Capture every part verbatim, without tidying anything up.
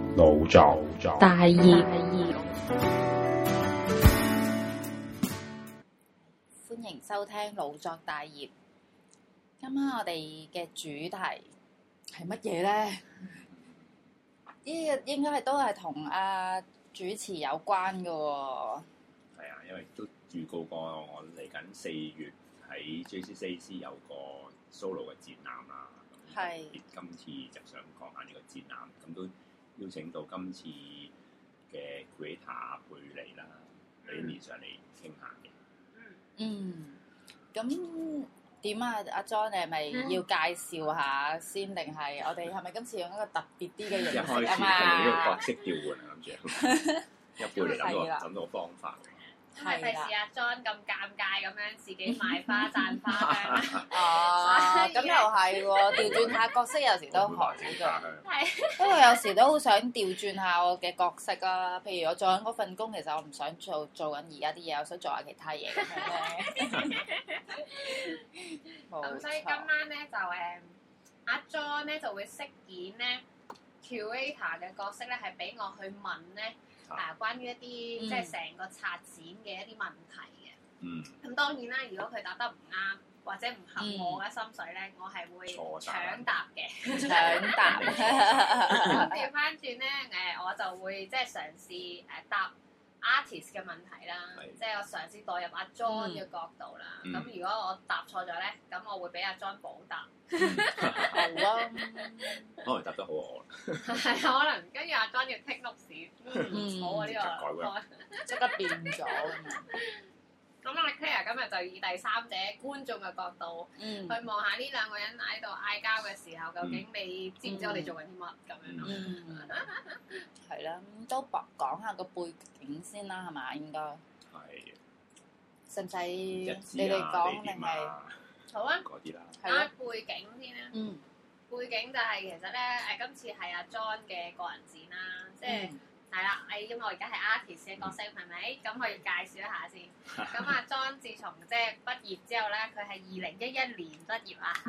腦作大業，歡迎收聽腦作大業。今晚我哋嘅主題係乜嘢咧？呢個應該係都係同阿主持有關嘅喎。 係啊，因為都預告過我嚟緊四月喺 J C C A C 有個 solo 嘅展覽啦。係。今次就想講下呢個展覽，咁都邀請到今次嘅 creator 貝妮啦，貝妮上嚟傾下嘅。嗯。 咁點啊？阿 John，你係咪要介紹下先，定係我哋係咪今次用一個特別啲嘅形式啊嘛？ 一開始係呢個角色調換啊，諗住。一貝妮諗到諗到方法。 係費事阿 John 咁尷尬咁樣自己賣花讚花香。 哦，咁又係喎，調轉下角色有時都好嘅。係。不過有時都好想調轉下我嘅角色啊，譬如我做緊嗰份工，其實我唔想做做緊而家啲嘢，我想做下其他嘢咁樣咧。 咁所以今晚咧就誒阿 John 咧就會飾演咧 curator 嘅角色咧，係俾我去問咧。啊，關於一啲、嗯、即係成個策展嘅一啲問題嘅。嗯。咁當然啦，如果佢答得唔啱或者唔合我嘅心水咧，嗯、我係會搶答嘅。搶答。咁調翻轉咧，誒我就會即係嘗試誒答 artist 嘅問題啦，是即係我嘗試代入阿 John 嘅角度啦。咁、嗯、如果我答錯咗咧，咁我會俾阿 John 補答。好啊， 可能答得好我。 係可能跟住阿 John 要 take notes，嗯，好啊呢個， 即刻變咗。 咁我哋 Claire 今日就以第三者觀眾嘅角度，去望下呢兩個人喺度嗌交嘅時候，究竟你知唔知我哋做緊啲乜咁樣咯？嗯， 係啦，都講下個背景先啦，係嘛？應該係。使唔使你哋講定係？ 好啊， 嗰啲啦， 啊背景先啦。嗯，背景就係其實咧，誒今次係阿 John 嘅個人展啦，即係係啦，誒因為我而家係 artist 嘅角色，係咪？咁我要介紹一下先。咁阿 John 自從即係畢業之後咧，佢係二零一一年畢業啊。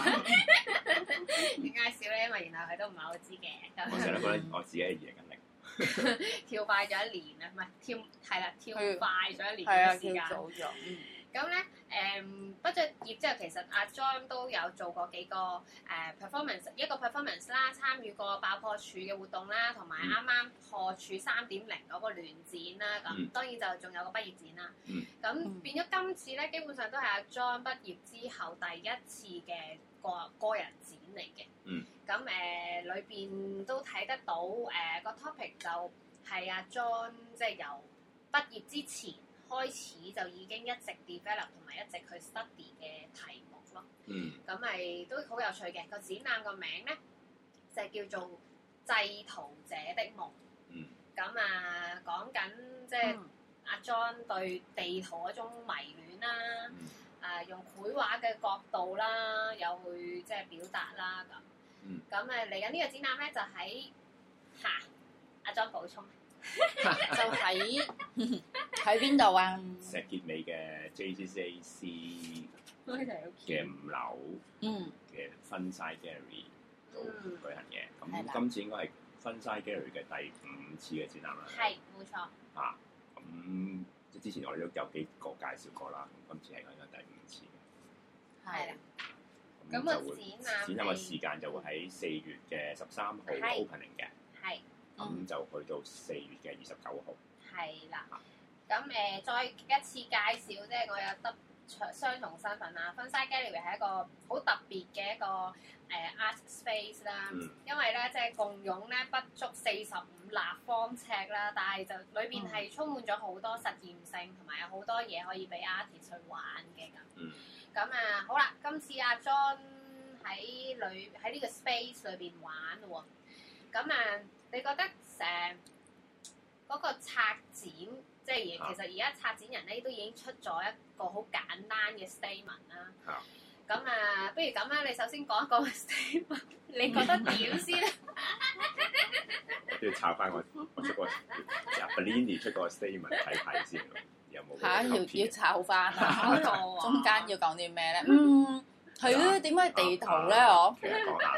點解笑咧？因為原來佢都唔係好知嘅。 我成日覺得我自己係二零一零， 跳快咗一年啊，唔係跳係啦，跳快咗一年嘅時間。 係啊，跳早咗。嗯。 咁咧，誒畢咗業之後，其實阿 John 都有做過幾個誒、呃、performance，一個 performance 啦，參與過爆破處嘅活動啦，同埋啱啱破處三點零嗰個聯展啦，咁、嗯、當然就仲有個畢業展啦。咁、嗯、變咗今次咧，基本上都係阿 John 畢業之後第一次嘅個個人展嚟嘅。咁誒裏邊都睇得到誒、呃、個 topic 就係阿 John 即係由畢業之前開始就已經一直 develop 同埋一直去 study 嘅題目咯。嗯。咁咪都好有趣嘅。個展覽個名咧就係叫做製圖者的夢。嗯。咁啊，講緊即係阿 John 對地圖嗰種迷戀啦。嗯。啊，用繪畫嘅角度啦，有去即係表達啦咁。嗯。咁誒嚟緊呢個展覽咧就喺嚇阿 John 補充。 就喺喺邊度啊？ 石硤尾嘅 J C C A C 嘅五樓嘅 Funside Gallery 度舉行嘅。咁今次應該係 Funside Gallery 嘅第五次嘅展覽啦。 係，冇錯。 啊，咁即之前我哋都有幾個介紹過啦，咁今次係應該第五次嘅。係。咁個展覽展覽嘅時間就會喺四月嘅十三號 opening 嘅。係。咁、嗯、就去到四月嘅二十九號。係啦。咁誒、呃，再一次介紹，即係我有得雙重身份啦。Funside Gallery 係一個好特別嘅一個誒、呃、art space 啦。嗯、因為咧，即係共用咧不足四十五立方尺啦，但係就裏邊係充滿咗好多實驗性，同埋有好多嘢可以俾 artist 去玩嘅咁。嗯。咁啊，好啦，今次阿 John 喺裏喺呢個 space 裏邊玩喎。咁啊。你覺得誒嗰個策展，即係其實而家策展人咧都已經出咗一個好簡單嘅 statement 啦。咁啊，不如咁啦，你首先講一講個 statement，你覺得點先咧？ 我都要抄翻我我出個阿 Bellini 出個 statement 睇睇先，有冇嚇？要要抄翻啊！中間要講啲咩咧？嗯，係咯，點解地圖咧？我其實講下啦。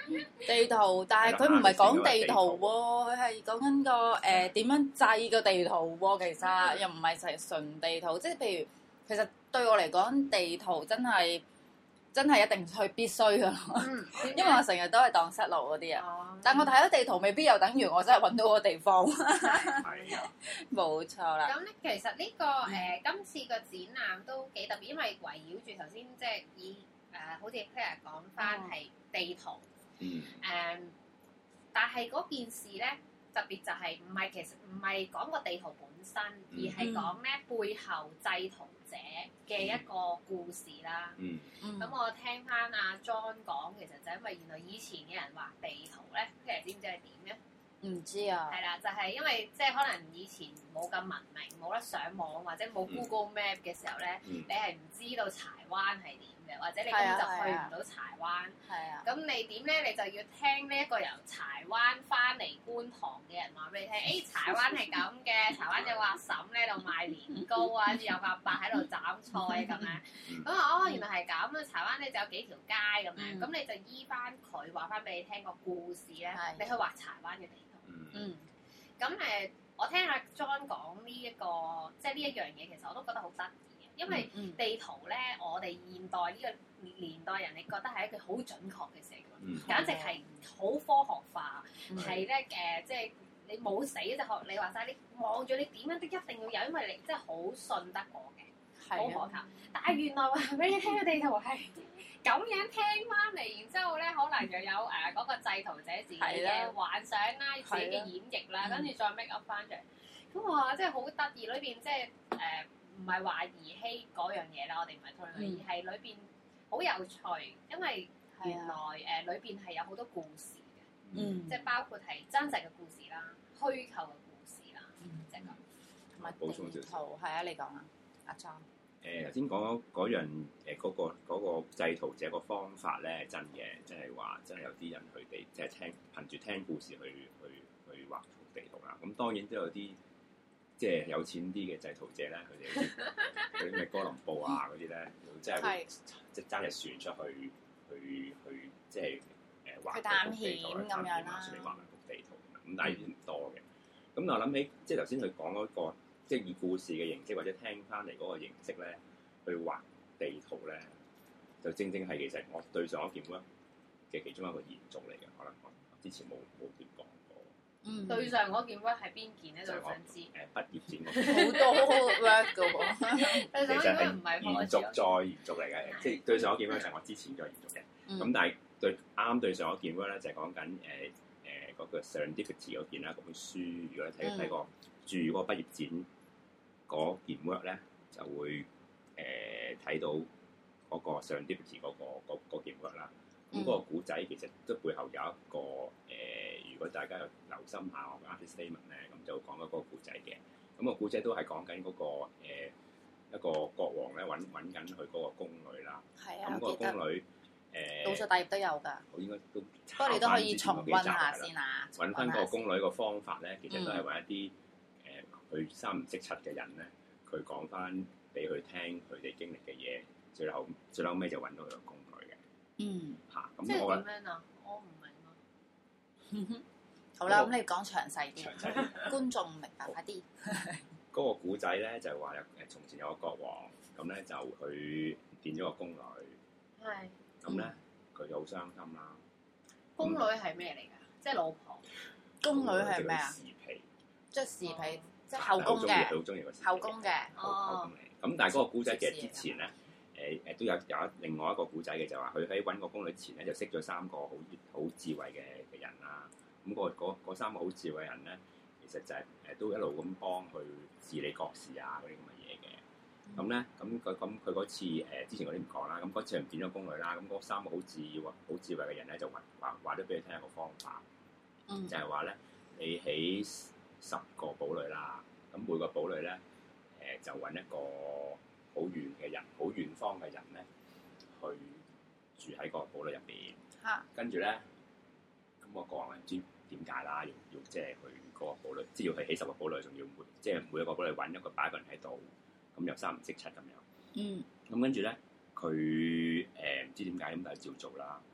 地圖，但係佢唔係講地圖喎，佢係講緊個誒點樣製個地圖喎。其實又唔係成純地圖，即係譬如其實對我嚟講，地圖真係真係一定去必須㗎咯。嗯、因為我成日都係蕩失路嗰啲啊。嗯、但我睇咗地圖，未必又等於我真係揾到個地方。係啊，冇錯啦。咁咧，其實呢、呢個誒、呃、今次個展覽都幾特別，因為圍繞住頭先即係以誒、呃、好似 Claire 講翻係地圖。嗯。誒、um,，但係嗰件事咧，特別就係唔係其實唔係講個地圖本身，而係講咧背後製圖者嘅一個故事啦。嗯。咁、嗯、我聽翻阿 John 講，其實就因為原來以前嘅人畫地圖咧，其實知唔知係點嘅？唔知啊。係啦，就係、是、因為即係可能以前冇咁文明，冇得上網或者冇 Google Map 嘅時候咧，嗯、你係唔知道柴灣係點。或者你根本就去唔到柴灣，咁、啊、你點咧？你就要聽呢一個由柴灣翻嚟觀塘嘅人話俾你聽，誒、欸、柴灣係咁嘅，柴灣有個阿嬸咧度賣年糕啊，跟住有個阿伯喺度斬菜咁樣，咁啊哦原來係咁啊！柴灣咧就有幾條街咁樣，咁、嗯、你就依翻佢話翻俾你聽個故事咧，是你去畫柴灣嘅地圖。嗯，咁誒、嗯，我聽阿 John 講呢一個，即係呢一樣嘢，其實我都覺得好得意。因為地圖咧，我哋現代呢個年代人，你覺得係一個好準確嘅事嚟嘅，嗯、簡直係好科學化，係咧誒，即係你冇死就學你話齋，你望住你點樣都一定要有，因為你真係好信得過嘅，好可靠。但係原來話俾你聽嘅地圖係咁樣聽翻嚟，然之後咧可能又有誒嗰、呃那個製圖者自己嘅幻想啦，的自己嘅演繹啦，跟住再 make up 翻出嚟。咁我話真係好得意，裏邊即係誒。呃唔係話兒戲嗰樣嘢啦，我哋唔係討論，嗯、而係裏邊好有趣，因為原來誒裏邊係有好多故事嘅，嗯、即係包括係真實嘅故事啦、虛構嘅故事啦，即係咁。同埋補充少少， 係啊，你講啊，阿 John。 誒頭先講嗰樣誒嗰個嗰個製圖者個方法咧係真嘅，即係話真係有啲人佢哋即係聽憑住聽故事去去去畫地圖啦。咁當然都有啲。即係有錢啲嘅製圖者咧，佢哋嗰啲咩哥倫布啊嗰啲咧，即係即係揸隻船出去去去即係誒畫個地圖啦，探險啊，順便畫埋幅地圖咁，但係唔多嘅。咁我諗起即係頭先佢講嗰個即係以故事嘅形式或者聽翻嚟嗰個形式咧，去畫地圖咧，就正正係其實我對上一件咧嘅其中一個延續嚟嘅，可能我之前冇冇點講。 嗯、對上嗰件 work 係邊件咧？就想知。誒畢業展好多 work 嘅喎。對上嗰件唔係延續再延續嚟嘅，即係對上嗰件 work 就係我之前再延續嘅。咁、嗯、但係對啱對上嗰件 work 咧，就係講緊誒誒嗰個 Serendipity 嗰件啦。嗰本書如果你睇睇過住嗰個畢業展嗰件 work 咧，就會誒睇、呃、到嗰個 Serendipity 嗰、嗰個嗰件 work 啦。咁嗰個古仔其實都背後有一個誒、呃，如果大家有留心下我嘅 artist statement 咧，咁就講嗰個古仔嘅。咁、個古仔都係講緊嗰個、呃、一個國王咧揾揾緊佢嗰個宮女啦。係啊，咁個宮女誒， 倒數第二頁都有㗎。 我應該都， 不過你都可以重溫下先啊。 揾翻個宮女個方法咧，其實都係揾一啲誒佢三唔識七嘅人咧，佢講翻俾佢聽佢哋經歷嘅嘢，最後最後尾就揾到佢個宮女嘅。嗯，嚇，咁我點樣啊？我唔明啊。 好啦，咁你講詳細啲，詳細啲，觀眾明白快啲。 嗰個古仔咧就係話有誒，從前有個國王，咁咧就去見咗個宮女。係。咁咧佢就好傷心啦。 宮女係咩嚟㗎？即係老婆。 宮女係咩啊？侍婢。即係侍婢，即係後宮嘅。 好中意個侍婢。 後宮嘅。 哦。咁但係嗰個古仔其實之前咧。誒誒都有有一另外一個古仔嘅，就話佢喺揾個宮女前咧，就識咗三個好好智慧嘅嘅人啦。咁、嗰個嗰三個好智慧嘅人咧，其實就係、是、誒都一路咁幫佢治理國事啊嗰啲咁嘅嘢嘅。咁咧咁佢咁佢嗰次誒、呃、之前嗰啲唔講啦。咁嗰次唔見咗宮女啦。咁嗰三個好智慧好智慧嘅人咧，就話話話咗俾佢聽一個方法，嗯、就係話咧你起十個堡壘啦。咁每個堡壘咧誒就揾一個好遠嘅人，好遠方嘅人咧，去住喺個堡壘入邊。嚇、啊！跟住咧，咁我講唔知點解啦，要要即係去嗰個堡壘，即係要去起十個堡壘，仲要每即係每一個堡壘揾一個擺一個人喺度，咁又三唔識七咁樣。嗯。咁跟住咧，佢誒唔知點解咁，但係照做啦。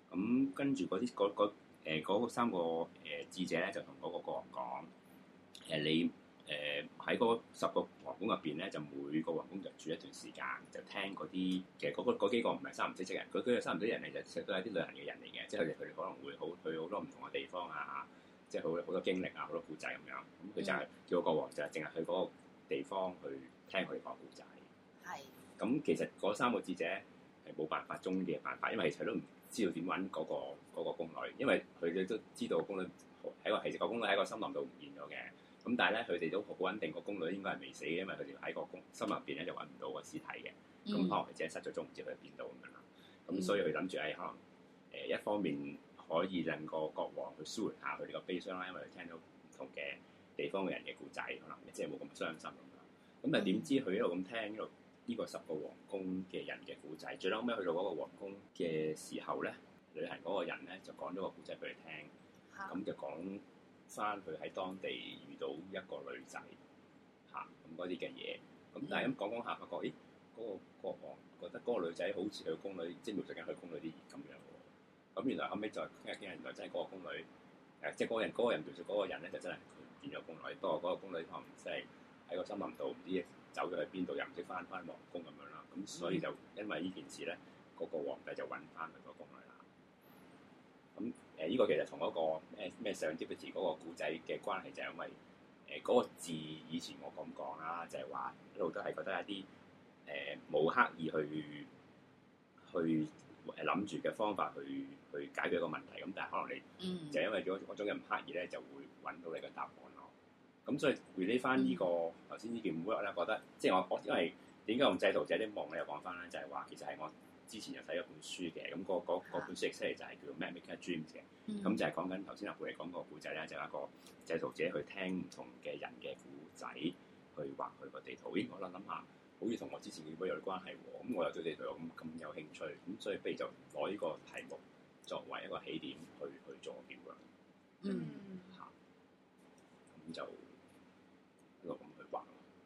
咁跟住嗰啲嗰嗰誒嗰三個誒智者咧，就同嗰個國王講：誒、呃、你誒喺嗰十個皇宮入邊咧，就每個皇宮就住一段時間，就聽嗰啲其實嗰個嗰幾個唔係三唔識七人，嗰嗰三唔識人嚟就其實都係啲旅行嘅人嚟嘅，即係佢哋佢哋可能會好去好多唔同嘅地方啊，即係好好多經歷啊，好多故仔咁樣。咁佢就係叫個國王就係淨係去嗰個地方去聽佢哋講故仔。係。咁其實嗰三個智者係冇辦法中嘅辦法，因為其實都唔知道點揾嗰個嗰個宮女，因為佢哋都知道宮女喺個其實個宮女喺個森林度唔見咗嘅。咁但係咧，佢哋都好穩定，個宮女應該係未死嘅，因為佢哋喺個宮森林入邊咧就揾唔到個屍體嘅。咁、嗯、可能佢只係失咗蹤，唔知佢喺邊度咁樣啦。咁、嗯、所以佢諗住誒，可能誒、呃、一方面可以令個國王去舒緩下佢哋個悲傷啦，因為佢聽到唔同嘅地方嘅人嘅故仔，可能即係冇咁傷心咁樣。咁但係點知佢一路咁聽一路呢個十個皇宮嘅人嘅故仔，最後尾去到嗰個皇宮嘅時候咧，旅行嗰個人咧就講咗個故仔俾佢聽，咁、嗯、就講翻佢喺當地遇到一個女仔嚇咁嗰啲嘅嘢，咁但係咁講講下發覺，咦嗰、那個國王覺得嗰個女仔好似佢個宮女，即係描述緊佢宮女啲咁樣喎。咁原來後尾就傾下傾下，原來真係嗰個宮女誒，即係嗰個人嗰、那個人描述嗰個人咧，就真係佢見咗宮女，不過嗰個宮女可能即係喺個森林度唔知走咗去邊度，又唔識翻翻皇宮咁樣啦。咁所以就因為呢件事咧，嗰、那個皇帝就揾翻佢個宮女啦。咁誒呢個其實同嗰個咩咩上接嘅字嗰個故仔嘅關係就係因為誒嗰、呃那個字以前我咁講啦，就係、是、話一路都係覺得一啲誒冇刻意去去誒諗住嘅方法去去解決一個問題，咁但係可能你、嗯、就因為嗰嗰種嘅唔刻意咧，就會揾到你嘅答案咯。咁所以回憶翻呢個頭先呢件 work 咧，覺得即係我我因為點解用製圖者啲夢咧又講翻咧，就係、是、話其實係我之前有睇一本書嘅，咁、那個嗰本書出嚟就係叫做《Make a Dream》嘅，咁、嗯、就係講緊頭先阿貝嚟講個故仔咧，就係、是、一個製圖者去聽唔同嘅人嘅故仔，去畫佢個地圖。咦，我諗諗下，好似同我之前嘅 work 有啲關係喎。咁我又對地圖有咁咁有興趣，咁所以不如就攞呢個題目作為一個起點去去做個 work。嗯，嚇，咁就一路咁去畫。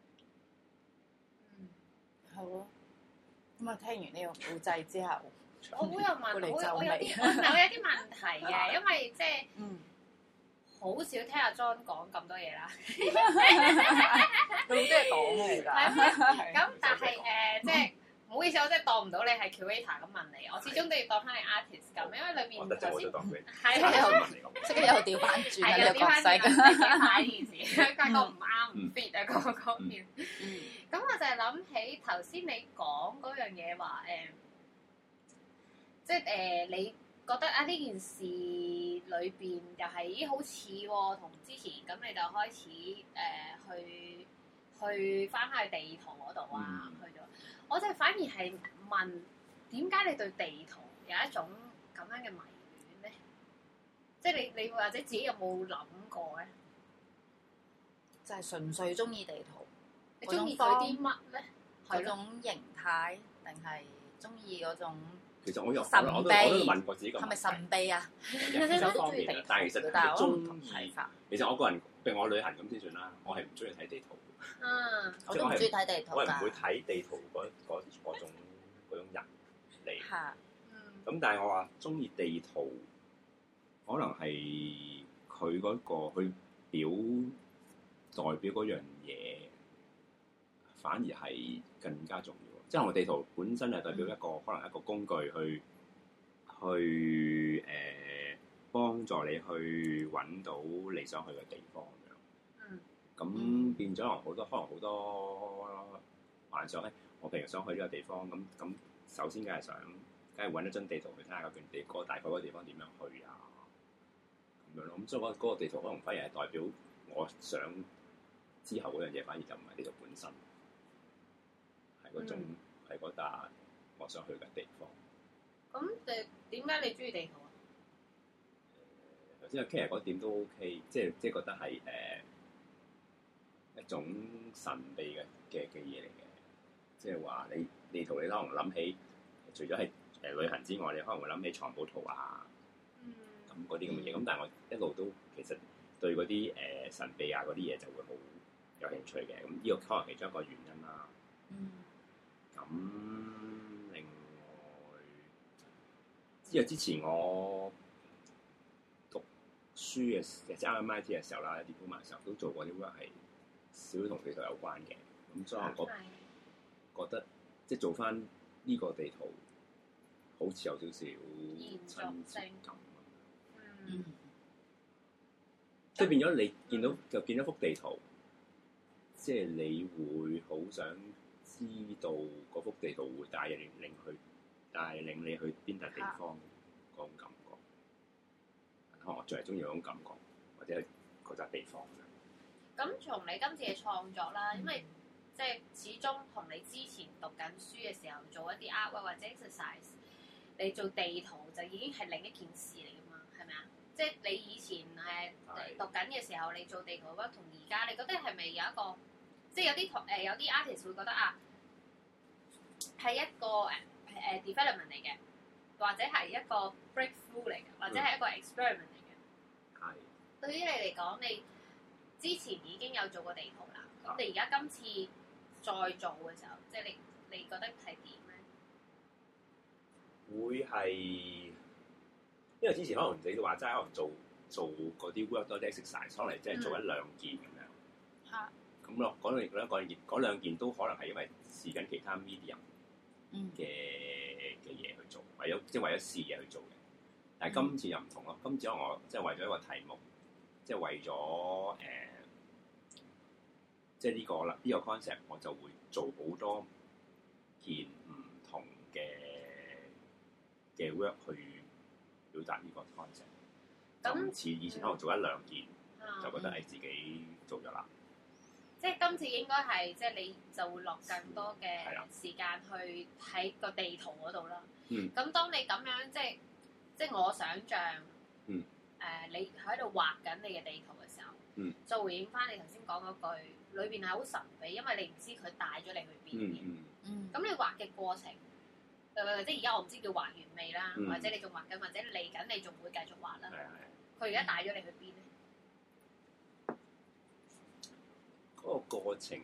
嗯，好咯。咁啊，聽完呢個故仔之後， 我好有問，我有啲我有啲問題嘅，因為即係好少聽阿 John 講咁多嘢啦。 佢好多嘢講嘅，其實。 咁但係誒，即係唔好意思，我真係當唔到你係 curator 咁問你，我始終都要當翻你 artist 咁，因為裏面頭先係即係又調翻轉啊！ 又調翻轉啊！呢件事，發覺唔啱唔 fit 啊，嗰嗰邊。咁我就係諗起頭先你講嗰樣嘢話誒，即係誒你覺得啊呢件事裏邊又係咦好似喎，同之前咁你就開始誒、呃、去去翻返去地圖嗰度啊，嗯、去咗。我就反而係問點解你對地圖有一種咁樣嘅迷戀咧？即係你你或者自己有冇諗過咧？ 就係純粹中意地圖。 你中意佢啲乜咧？ 嗰種形態定係中意嗰種？ 其實我有神秘， 我都我都問過自己個問題。 係咪神秘啊？ 有方面嘅，但係其實係中意。其實我個人，譬如我旅行咁先算啦，我係唔中意睇地圖。 嗯， 我都唔中意睇地圖㗎。 我係唔會睇地圖嗰嗰嗰種嗰種人嚟。嚇。咁但係我話中意地圖，可能係佢嗰個去表代表嗰樣嘢。反而係更加重要，即係我地圖本身係代表一個、嗯、可能一個工具去去誒、呃、幫助你去揾到你想去嘅地方咁樣。嗯。咁變咗可能好多可能好多幻想咧。我譬如想去呢個地方，咁咁首先梗係想，梗係揾一張地圖去睇下嗰段地嗰大概嗰個地方點樣去啊，咁樣咯。咁所以嗰嗰個地圖可能反而係代表我想之後嗰樣嘢，反而就唔係地圖本身。嗰種係嗰笪我想去嘅地方。 咁誒點解你中意地圖啊？ 頭先阿 Kira 嗰點都 OK，即係即係覺得係誒、呃、一種神秘嘅嘅嘅嘢嚟嘅。即係話你地圖你可能諗起，除咗係誒旅行之外，你可能會諗起藏寶圖啊，咁嗰啲咁嘅嘢。咁、嗯、但係我一路都其實對嗰啲誒神秘啊嗰啲嘢就會好有興趣嘅。咁呢個可能其中一個原因啦。嗯。咁另外， 因為之前我讀書嘅即係啱啱 M I T 嘅時候啦，diploma嘅時候都做過啲 work 係少同地圖有關嘅，咁所以我覺得即係做翻呢個地圖好似有少少親切感。嗯，即係變咗你見到、嗯、就見到幅地圖，即係你會好想知道嗰幅地圖會帶領領去帶領你去邊笪地方嗰種感覺。可能我最係中意嗰種感覺，或者嗰笪地方。 咁從你今次嘅創作啦，因為即係始終同你之前讀緊書嘅時候做一啲 art 或者 exercise， 你做地圖就已經係另一件事嚟㗎嘛，係咪啊？即係你以前誒讀緊嘅時候，你做地圖 work 同而家，你覺得係咪有一個，即係有啲同誒有啲 artist 會覺得啊，係一個誒誒、uh, development 嚟嘅，或者係一個 breakthrough 嚟嘅，或者係一個 experiment 嚟嘅。係、嗯。對於你嚟講，你之前已經有做過地圖啦，咁你而家今次再做嘅時候，即係你你覺得係點咧？ 會係。因為之前可能你都話齋，可能做做嗰啲 work 多啲 exercise，可能即係做一兩件咁樣。嚇、嗯。咁咯，嗰兩嗰兩件嗰兩件都可能係因為試緊其他 medium 嘅嘅嘢去做，為咗即係為咗試嘢去做嘅。但係今次又唔同咯，今次我即係為咗一個題目，即係為咗誒，即係呢個啦，呢個 concept 我就會做好多件唔同嘅嘅 work 去表達呢個 concept，今次以前可能做一兩件，嗯、就覺得係自己做咗啦。 即係今次應該係，即係你就會落更多嘅時間去喺個地圖嗰度啦。咁、嗯、當你咁樣即係即係我想像，誒、嗯呃、你喺度畫緊你嘅地圖嘅時候，嗯、就回應翻你頭先講嗰句，裏邊係好神秘，因為你唔知佢帶咗你去邊嘅。咁、嗯嗯、你畫嘅過程。誒，即係而家我唔知叫畫完未啦，嗯、或者你仲畫緊，或者嚟緊你仲會繼續畫啦。佢而家帶咗你去邊咧？ 嗰個過程，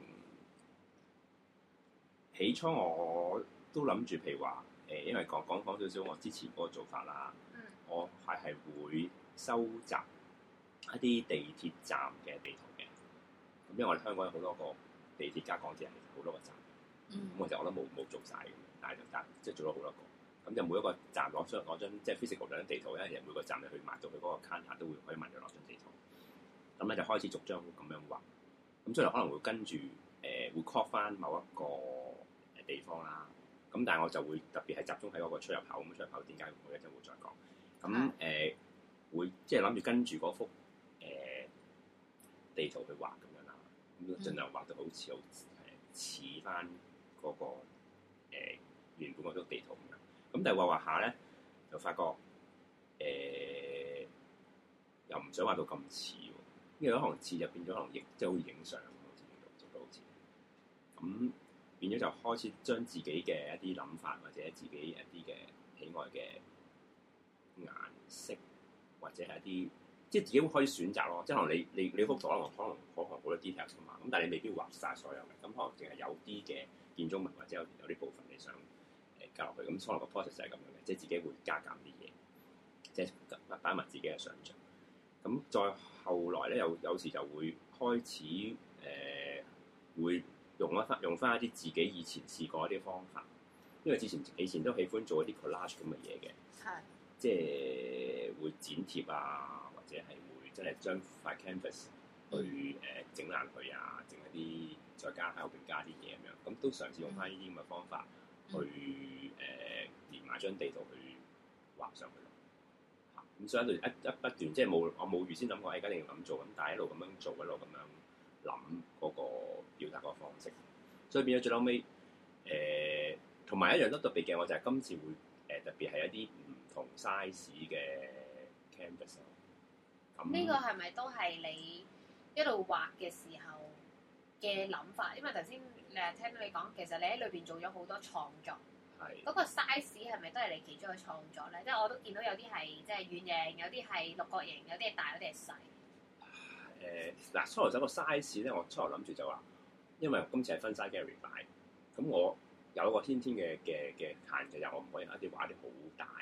起初我都諗住，譬如話誒，因為講講講少少我之前嗰個做法啦，嗯、我係係會收集一啲地鐵站嘅地圖嘅。咁因為我哋香港有好多個地鐵加港鐵，好多個站。咁、嗯、我就我都冇冇做晒嘅。但係就但即係做咗好多個，咁就每一個站攞張攞張即係 physical 嗰張地圖咧，其實每個站你去埋到佢嗰個 counter 都會可以問佢攞張地圖。咁咧就開始逐張咁樣畫，咁所以可能會跟住誒、呃、會 call 翻某一個誒地方啦。咁但係我就會特別係集中喺嗰個出入口。咁出入口點解我一陣會再講。咁誒、呃、會即係諗住跟住嗰幅誒、呃、地圖去畫咁樣啦。咁盡量畫到好似好誒似翻嗰個、呃原本嗰張地圖咁樣，咁但係畫畫下咧，就發覺誒、呃、又唔想畫到咁似喎，因為可能似就變咗可能影即係好似影相咁，好似做到好似咁變咗就開始將自己嘅一啲諗法或者自己一啲嘅喜愛嘅顏色或者係一啲即係自己會可以選擇咯，即係可能你你你幅圖可能可能可能好多 details 噶嘛，咁但係你未必畫晒所有嘅，咁可能淨係有啲嘅建築物或者有有啲部分你想。加落去，咁可能個 process 就係咁樣嘅，即係自己會加減啲嘢，即係擺埋自己嘅想像。咁再後來咧，有有時就會開始誒、呃，會用一翻用翻一啲自己以前試過一啲方法，因為之前以前都喜歡做一啲 collage 咁嘅嘢嘅，係的，即係會剪貼啊，或者係會真係將塊 canvas 去誒整爛佢啊，整一啲再加喺後邊加啲嘢咁樣，咁都嘗試用翻呢啲咁嘅方法。去誒、呃、連埋張地圖去畫上去咯，嚇、嗯、咁所以一路一一不斷，即係冇我冇預先諗過，而家一定要咁做，咁但係一路咁樣做，一路咁樣諗嗰個表達個方式，所以變咗最後尾誒，同、呃、埋一樣都特別嘅，我就係今次會誒、呃、特別係一啲唔同 size 嘅 canvas。咁呢個係咪都係你一路畫嘅時候嘅諗法？因為頭先。誒聽到你講，其實你喺裏邊做咗好多創作，係嗰的個 size 係咪都係你其中嘅創作咧？即係我都見到有啲係即係圓形，有啲係六角形，有啲係大，有啲係細。 誒嗱、呃，初頭走個 size 咧，我初頭諗住就話，因為今次係分 size gallery 擺，咁我有一個天天嘅嘅嘅限制，就我唔可以一啲畫啲好大嘅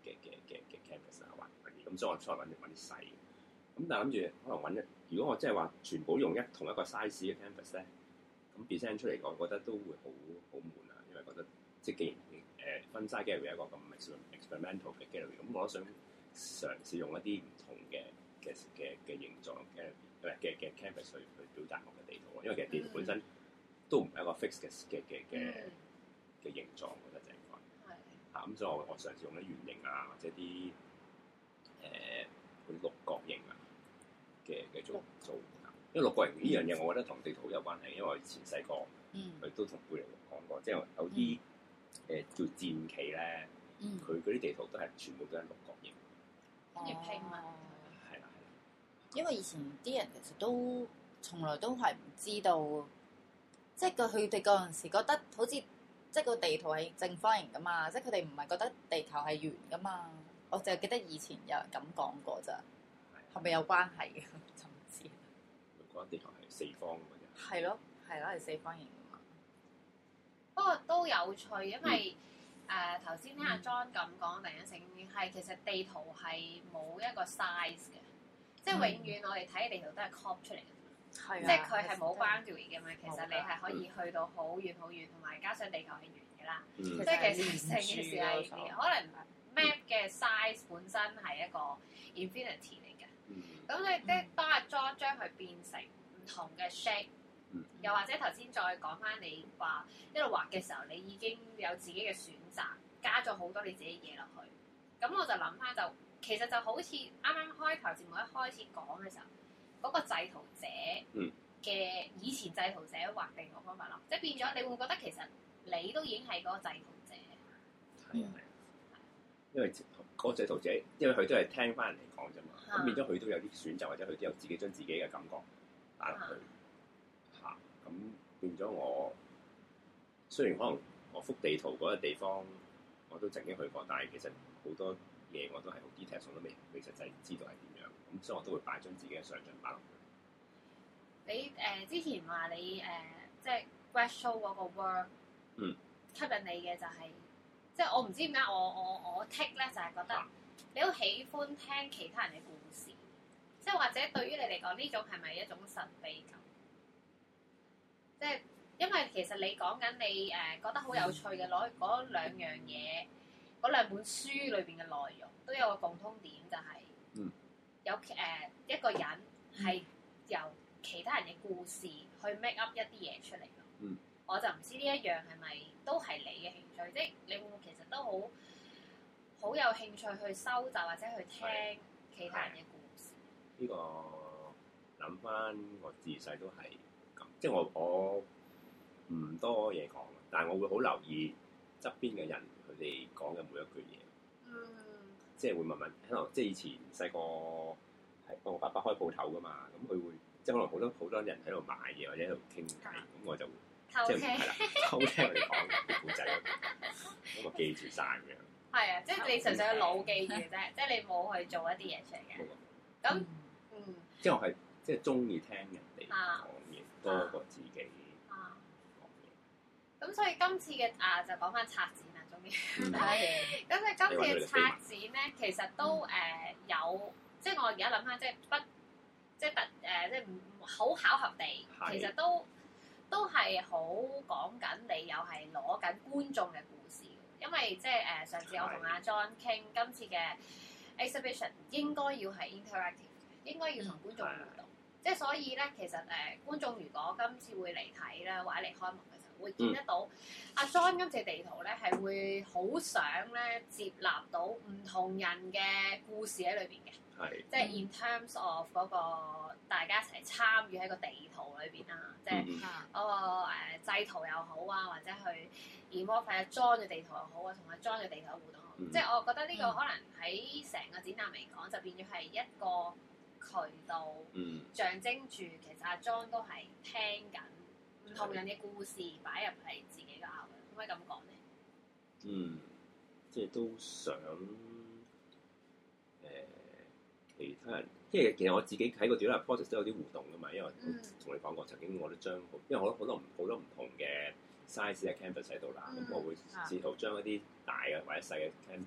嘅嘅嘅嘅 canvas 啊，或者咁，所以我出嚟揾揾啲細。咁但係諗住可能揾一，如果我即係話全部用一同一個 size 嘅 canvas 咧，咁 present 出嚟講，我覺得都會好好悶啊，因為覺得即係既然誒分 size gallery 一個咁 experimental 嘅 gallery，咁我都想嘗試用一啲唔同嘅嘅嘅嘅形狀嘅嘅嘅 canvas 去去表達我嘅地圖，因為其實地圖本身都唔係一個 fix 嘅嘅嘅嘅嘅形狀，我覺得就係講嚇咁，所以我我嘗試用啲圓形啊，或者啲誒嗰啲六角形啊嘅嘅做做，因為六角形呢樣嘢，我覺得同地圖有關係，因為我以前細個佢都同貝利講過，即係有啲誒叫戰棋咧，佢嗰啲地圖都係全部都係六角形， 跟住拼埋。 係啦係啦， 因為以前啲人其實都從來都係唔知道，即係個佢哋嗰陣時覺得好似即係個地圖係正方形噶嘛，即係佢哋唔係覺得地球係圓噶嘛。我淨係記得以前有人咁講過咋，係咪有關係嘅？就唔知。 佢覺得地球係四方嘅啫。係咯，係咯，係四方形噶嘛。 不過都有趣，因為誒頭先聽阿 John 咁講，突然間醒起係其實地圖係冇一個 size 嘅，即係永遠我哋睇嘅地圖都係 copy 出嚟嘅， 係即係佢係冇 boundary 嘅嘛。其實你係可以去到好遠好遠，同埋加上地球係圓嘅啦，即係其實成件事係可能 map 嘅 size 本身係一個 infinity 嚟嘅。咁你即係當阿 John 將佢變成唔同嘅 shape。又或者頭先再講翻你話一路畫嘅時候，你已經有自己嘅選擇，加咗好多你自己嘢落去。咁我就諗翻就，其實就好似啱啱開頭節目一開始講嘅時候，嗰、那個製圖者嘅以前製圖者畫地圖方法咯，即係變咗你會覺得其實你都已經係嗰個製圖者。 係啊係啊，因為嗰個製圖者，因為佢都係聽翻人嚟講啫嘛，咁、嗯、變咗佢都有啲選擇，或者佢都有自己將自己嘅感覺打落去。咁變咗我，雖然可能我幅地圖嗰個地方我都曾經去過，但係其實好多嘢我都係好 detail，我都未未實際知道係點樣。咁所以我都會擺將自己嘅想像擺落去。 你誒、呃、之前話你誒、呃、即係 grad show 嗰個 work， 嗯， 吸引你嘅就係、是，即係我唔知點解我我我 take 咧就係、是、覺得你好喜歡聽其他人嘅故事，即係或者對於你嚟講呢種係咪一種神秘感？即係，因為其實你講緊你誒、呃、覺得好有趣嘅攞嗰兩樣嘢，嗰兩本書裏邊嘅內容都有個共通點，就係、是嗯、有誒、呃、一個人係由其他人嘅故事去 make up 一啲嘢出嚟咯。嗯、我就唔知呢一樣係咪都係你嘅興趣，即係你會唔會其實都好好有興趣去收集或者去聽其他人嘅故事？ 呢、這個諗翻我自細都係。即係我我唔多嘢講，但係我會好留意側邊嘅人佢哋講嘅每一句嘢。嗯。即係會問問，可能即係以前細個係幫我爸爸開鋪頭㗎嘛，咁佢會即係可能好多好多人喺度買嘢或者喺度傾偈，咁、嗯、我就偷聽即係係啦，偷聽佢哋講嘅故仔，咁我記住晒咁樣。係啊，即係你純粹個腦記住啫，即係你冇去做一啲嘢出嚟嘅。咁嗯，嗯即係我係即係鍾意聽人哋講嘢。多過自己講嘢， 咁、啊、所以今次嘅啊就講翻策展啦，終於。咁你今次嘅策展咧，其實都誒、呃、有，即係我而家諗翻，即係不，即係特誒，即係唔好巧合地，其實都都係好講緊你又係攞緊觀眾嘅故事，因為即係誒、呃、上次我同阿 John 傾，今次嘅 exhibition 應該要係 interactive，應該要同觀眾互動。即係所以咧，其實誒、呃、觀眾如果今次會嚟睇咧，或者嚟開幕嘅時候，會見得到阿、嗯啊、John 今次地圖咧係會好想咧接納到唔同人嘅故事喺裏邊嘅， 係即係 in terms of 嗰、那個大家一齊參與喺個地圖裏邊啦，即係嗰、那個誒製、呃、圖又好啊，或者去 involve 阿 John 嘅地圖又好啊，同阿 John 嘅地圖互動好，嗯、即係我覺得呢個可能喺成個展覽嚟講，就變咗係一個渠道，嗯、象徵住其實阿 John 都係聽緊唔同人嘅故事擺入嚟自己嘅口嘅，可唔可以咁講咧？ 嗯，即係都想誒、呃、其他人，即係其實我自己喺個展覽 process 都有啲互動噶嘛，因為同你講過曾經我都將，因為我好多唔好多唔同嘅 size 嘅 canvas 喺度啦，咁、嗯、我會試圖將一啲大嘅或者細嘅 canvas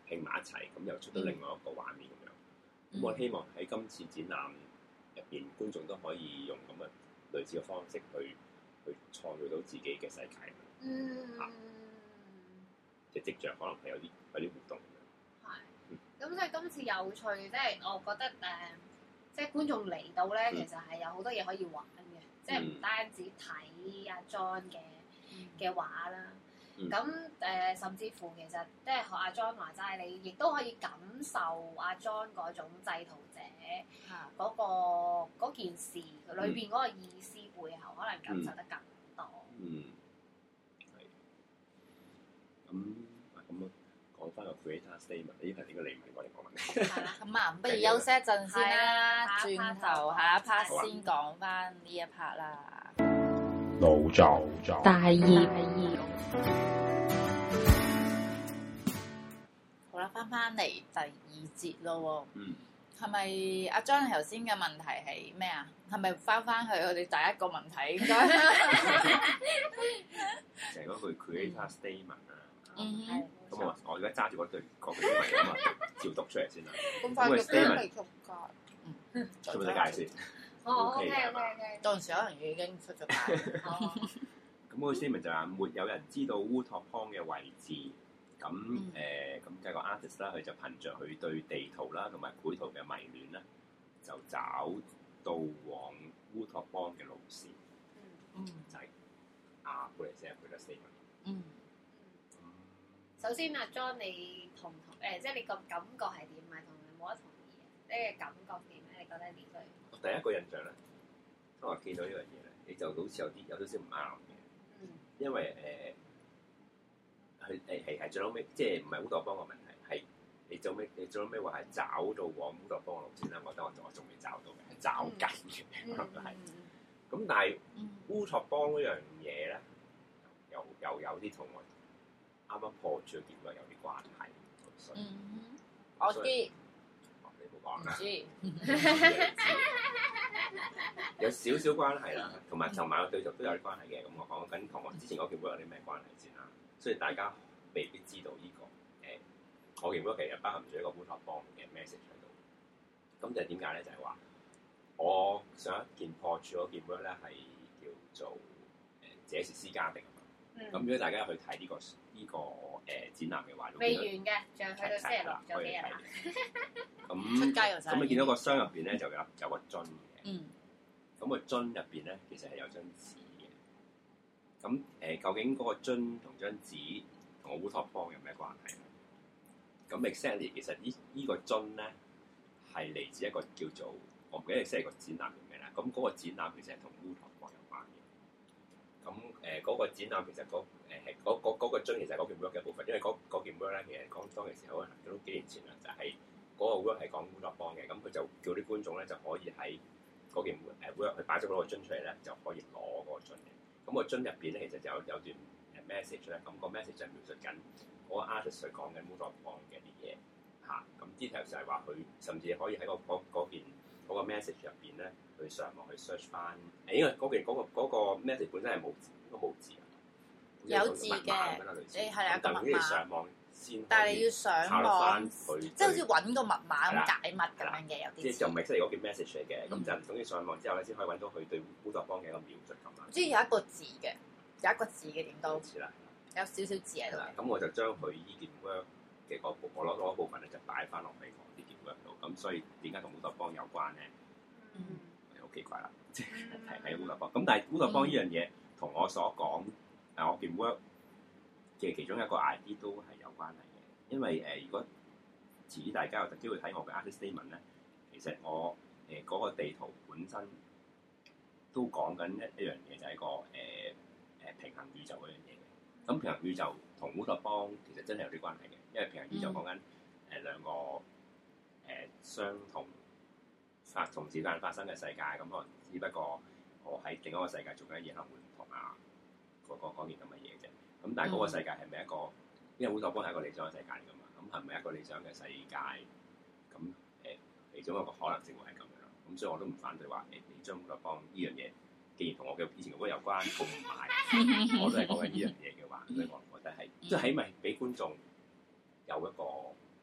拼埋一齊，咁又出到另外一個畫面咁樣。咁、嗯、我希望喺今次展覽入邊，觀眾都可以用咁嘅類似嘅方式去去創造到自己嘅世界。嗯。啊、即係跡象可能係有啲有啲互動。 係。咁所以今次有趣，即係我覺得誒、呃，即係觀眾嚟到咧，其實係有好多嘢可以玩嘅，嗯、即係唔單止睇阿 John 嘅嘅畫啦。咁誒、嗯呃，甚至乎其實即係學阿 John 話齋，你亦都可以感受阿 John 嗰種製圖者嗰、嗰個、嗯、件事裏邊嗰個意思背後，可能感受得更多。嗯， 係。咁咁講翻個 creator statement，呢排點解你唔係我哋講問？係啦， 咁啊，不如休息一陣先啦，轉頭下一 part 先講翻呢一 part 啦。腦作大業。好啦，翻翻嚟第二節咯喎。嗯。係咪阿 John 頭先嘅問題係咩啊？係咪翻翻去我哋第一個問題應該？ 就係嗰句 creator statement 啊。嗯哼。咁我我而家揸住嗰句嗰句英文咁啊，照讀出嚟先啦。咁快嘅 statement 嗯。出唔出街先？ 哦，OK OK OK。 到時可能已經出咗街。 咁嗰個 statement 就話沒有人知道烏托邦嘅位置。咁誒，咁計個 artist 啦，佢就憑着佢對地圖啦同埋繪圖嘅迷戀啦，就找到往烏托邦嘅路線。嗯，就係啊，布雷斯佢嘅 statement。嗯。 首先阿 John，你同同誒，即係你個感覺係點？唔係同你冇得同意嘅，你嘅感覺點咧？你覺得呢句？ 我第一個印象咧，當我見到呢樣嘢咧，你就好似有啲有少少唔啱嘅。嗯。因為誒。佢誒係係最後尾，即係唔係烏托邦嘅問題，係你最尾你最後尾話係找到往烏托邦嘅路線啦。我覺得我我仲未找到嘅，係找緊嘅，可能係。咁但係烏托邦嗰樣嘢咧，又又有啲同我啱啱破處嘅結果有啲關係。 嗯，我知。你唔好講啦。有少少關係啦，同埋同埋個對象都有啲關係嘅。咁我講緊同我之前嗰件會有啲咩關係先啦。所以大家未必知道呢、這個誒、呃，我件 work 其實包含住一個烏托邦嘅 message 喺度。咁就係點解咧？就係、是、話我上一件破處嗰件 work 咧係叫做誒這是私家的啊嘛。咁、嗯、如果大家去睇呢、這個呢、這個誒、呃、展覽嘅話， 未完嘅，仲去到星期六仲有幾日啊？ 咁出街又咁你見到個箱入邊咧就有有個樽嘅。嗯。咁個樽入邊咧其實係有張紙。咁誒、呃，究竟嗰個樽同張紙同個烏托邦有咩關係咧？咁 exactly 其實呢依個樽咧係嚟自一個叫做我唔記得 exactly 個展覽叫咩啦。咁嗰個展覽其實係同烏托邦有關嘅。咁誒嗰個展覽其實嗰誒係嗰嗰嗰個樽其實係嗰件 work 嘅一部分，因為嗰嗰件 work 咧其實講當其時可能都幾年前啦，就係、是、嗰個 work 係講烏托邦嘅。咁佢就叫啲觀眾咧就可以喺嗰件誒 work 去擺咗嗰個樽出嚟咧，就可以攞嗰個樽嘅。咁個樽入邊咧，其實就有有段誒 message 咧。咁個 message 就係描述緊嗰個 artist 佢講緊烏托邦嘅啲嘢嚇。咁 detail 就係話佢甚至可以喺、嗰個嗰件嗰個 message 入邊咧，去上網去 search 翻。誒，因為嗰件嗰個嗰個 message 本身係冇字，應該冇字啊。 有字嘅，你係啊個密碼。上網先，但係你要上網，即係好似揾個密碼咁解密咁樣嘅，有啲。 即係就唔係即係嗰件 message 嚟嘅，咁就總之上網之後咧，先可以揾到佢對烏托邦嘅一個描述咁啊。 即係有一個字嘅，有一個字嘅點都。似啦。有少少字喺度。 咁我就將佢依件 work 嘅嗰部，我攞嗰部分咧就擺翻落去我呢件 work 度。咁所以點解同烏托邦有關咧？嗯。好奇怪啦，即係提起烏托邦。咁但係烏托邦呢樣嘢同我所講，誒我件 work 嘅其中一個 idea 都係有關係嘅。因為誒、呃，如果遲啲大家有機會睇我嘅 artist statement 咧，其實我誒嗰、呃那個地圖本身都講緊一一樣嘢，就係、是、個誒誒、呃、平衡宇宙嗰樣嘢嘅。咁平衡宇宙同烏托邦其實真係有啲關係嘅，因為平衡宇宙講緊誒兩個誒、呃、相同發同時間發生嘅世界，咁可能只不過我喺另一個世界做緊嘢，可能會唔同啊，嗰嗰件咁嘅嘢啫。咁但係嗰個世界係咪一個？因為烏托邦係一個理想嘅世界嚟㗎嘛，咁係咪一個理想嘅世界？咁誒、呃，其中一個可能性會係咁樣，咁所以我都唔反對話誒，你將烏托邦呢樣嘢，既然同我嘅以前嘅 work 有關，同埋我都係講緊呢樣嘢嘅話，所以我覺得係即係起碼俾觀眾有一個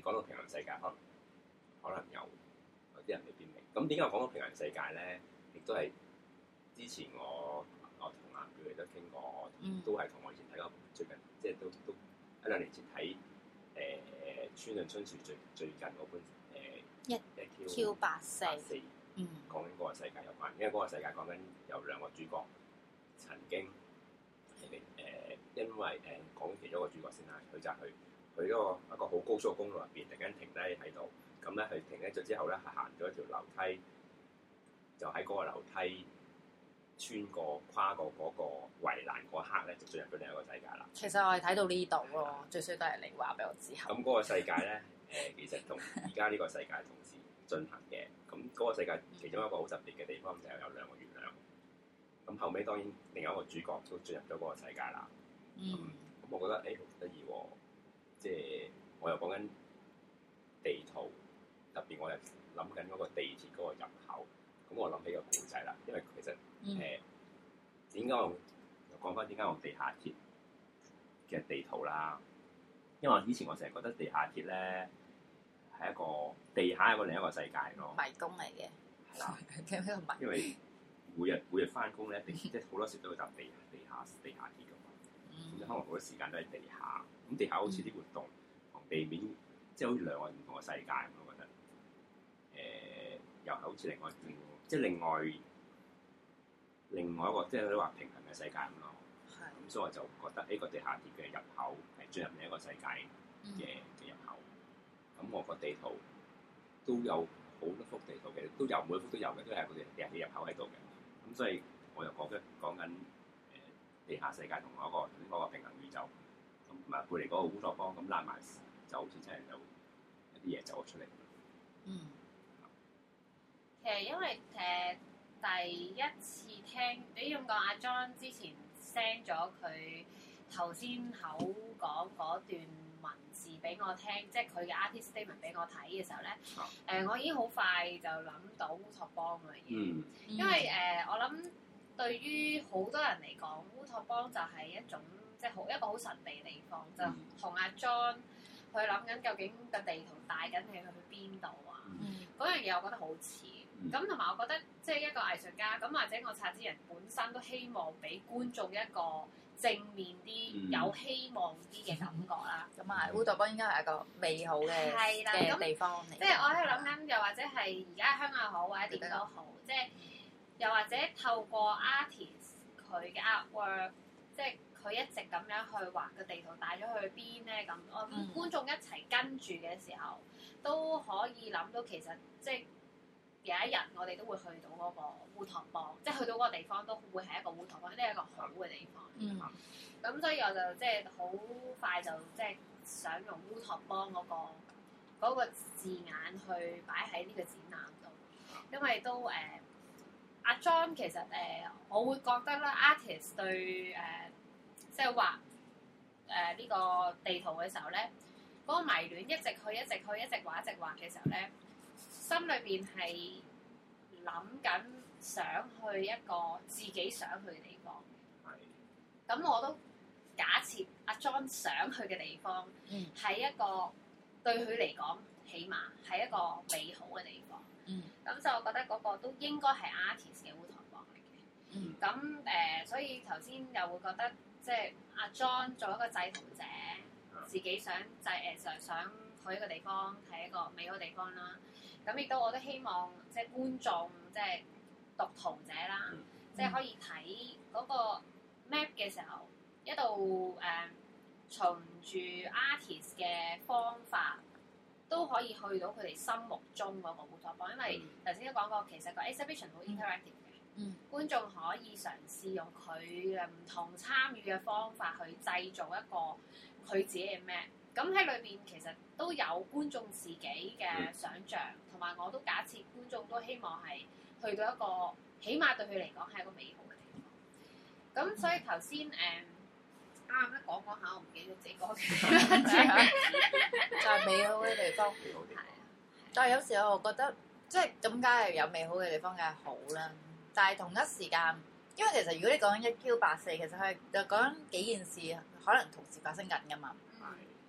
講到平行世界，可能可能有有啲人未必明。咁點解我講到平行世界咧？亦都係之前我我同阿表哋都傾過，嗯、都係同我以前睇過最近，即係都都一兩年前睇誒村上春樹最最近嗰本誒一 Q 八四，嗯，講緊嗰個世界有關，因為嗰個世界講緊有兩個主角曾經誒、呃，因為誒、呃、講其中一個主角先啦，佢就係去去嗰個一個好高速嘅公路入邊，突然間停低喺度，咁咧佢停低咗之後咧，係行咗一條樓梯，就喺嗰個樓梯穿過跨過嗰個圍欄嗰刻咧，就進入咗另一個世界啦。其實我係睇到呢度咯，的最衰都係你話俾我知。咁嗰個世界咧，誒、呃、其實同而家呢個世界同時進行嘅。咁嗰個世界其中一個好特別嘅地方就係有兩個月亮。咁後尾當然另外一個主角都進入咗嗰個世界啦。嗯。咁、嗯、我覺得誒好得意喎，即係我又講緊地圖，特別我又諗緊嗰個地鐵嗰個入口。咁我諗起個故仔啦，因為其實誒點解我講翻點解我地下鐵嘅地圖啦？因為我以前我成日覺得地下鐵咧係一個地下係一個另一個世界咯，迷宮嚟嘅，係啦，因為每日每日翻工咧，即係好多時都會搭地地下地下鐵噶嘛，咁、嗯、可能好多時間都喺地下。咁地下好似啲活動同地面，即係好似兩個唔同嘅世界咁，我覺得誒、呃、又係好似另外一即係另外另外一個，即係你話平衡嘅世界咁咯。係的。咁所以我就覺得呢個地下鐵嘅入口係進入另一個世界嘅嘅入口。咁、嗯、我個地圖都有好多幅地圖嘅，都有每一幅都有嘅，都係個地地下鐵入口喺度嘅。咁所以我又講緊講緊誒地下世界同嗰、嗰個嗰、嗰個平衡宇宙，咁同埋背離嗰個烏托邦咁拉埋，就好似真係有一啲嘢走咗出嚟。嗯。 其實因為誒、呃、第一次聽你咁講，阿 John 之前 send 咗佢頭先口講嗰段文字俾我聽，即係佢嘅 artist statement 俾我睇嘅時候咧，誒、啊呃、我已經好快就諗到烏托邦嘅嘢，嗯、因為誒、呃、我諗對於好多人嚟講，烏托邦就係一種即係好一個好神秘嘅地方，嗯、就同阿 John 去諗緊究竟個地圖帶緊你去去邊度啊？嗰、嗯、樣嘢我覺得好似。咁同埋我覺得，即係一個藝術家，咁或者我策展人本身都希望俾觀眾一個正面啲、嗯、有希望啲嘅感覺啦。咁啊，烏托邦應該係一個美好嘅嘅地方嚟。即係我喺度諗緊，又或者係而家香港好，或者點都好，即係又或者透過 artist 佢嘅 artwork，即係佢一直咁樣去畫個地圖帶咗去邊咧？咁我諗觀眾一齊跟住嘅時候，都可以諗到其實即係。有一日我哋都會去到嗰個烏托邦，即係去到嗰個地方都會係一個烏托邦，呢係一個好嘅地方。嗯。咁所以我就即係好快就即係想用烏托邦嗰個嗰個字眼去擺喺呢個展覽度，因為都誒阿 John 其實誒、呃、我會覺得啦 artist 對誒、呃、即係畫誒呢個地圖嘅時候咧，嗰、嗰個迷戀一直去一直去一直畫一直畫嘅時候咧。心裏邊係諗緊想去一個自己想去嘅地方。係。咁我都假設阿 John 想去嘅地方，係、嗯、一個對佢嚟講，起碼係一個美好嘅地方。嗯。咁就我覺得嗰個都應該係 artist 嘅烏托邦嚟嘅。嗯。咁誒、呃，所以頭先又會覺得，即係阿 John 做一個製圖者，嗯、自己想製誒想想去一個地方，係一個美好地方啦。咁亦都我都希望即係觀眾，即係讀圖者啦，嗯、即係可以睇嗰個 map 嘅時候，一路誒、呃、循住 artist 嘅方法，都可以去到佢哋心目中嗰個烏托邦。因為頭先都講過，其實個 exhibition 好 interactive 嘅，嗯、觀眾可以嘗試用佢嘅唔同參與嘅方法去製造一個佢自己嘅 map。咁喺裏邊其實都有觀眾自己嘅想像，同埋、嗯、我都假設觀眾都希望係去到一個，起碼對佢嚟講係一個美好嘅地方。咁所以頭先誒啱啱講講下，我唔記得自己講嘅，就係美好嘅地方。係啊，但係有時候我覺得即係咁，梗係有美好嘅地方梗係好啦。但係同一時間，因為其實如果你講緊一 Q 八四，其實係就講緊幾件事可能同時發生緊㗎嘛。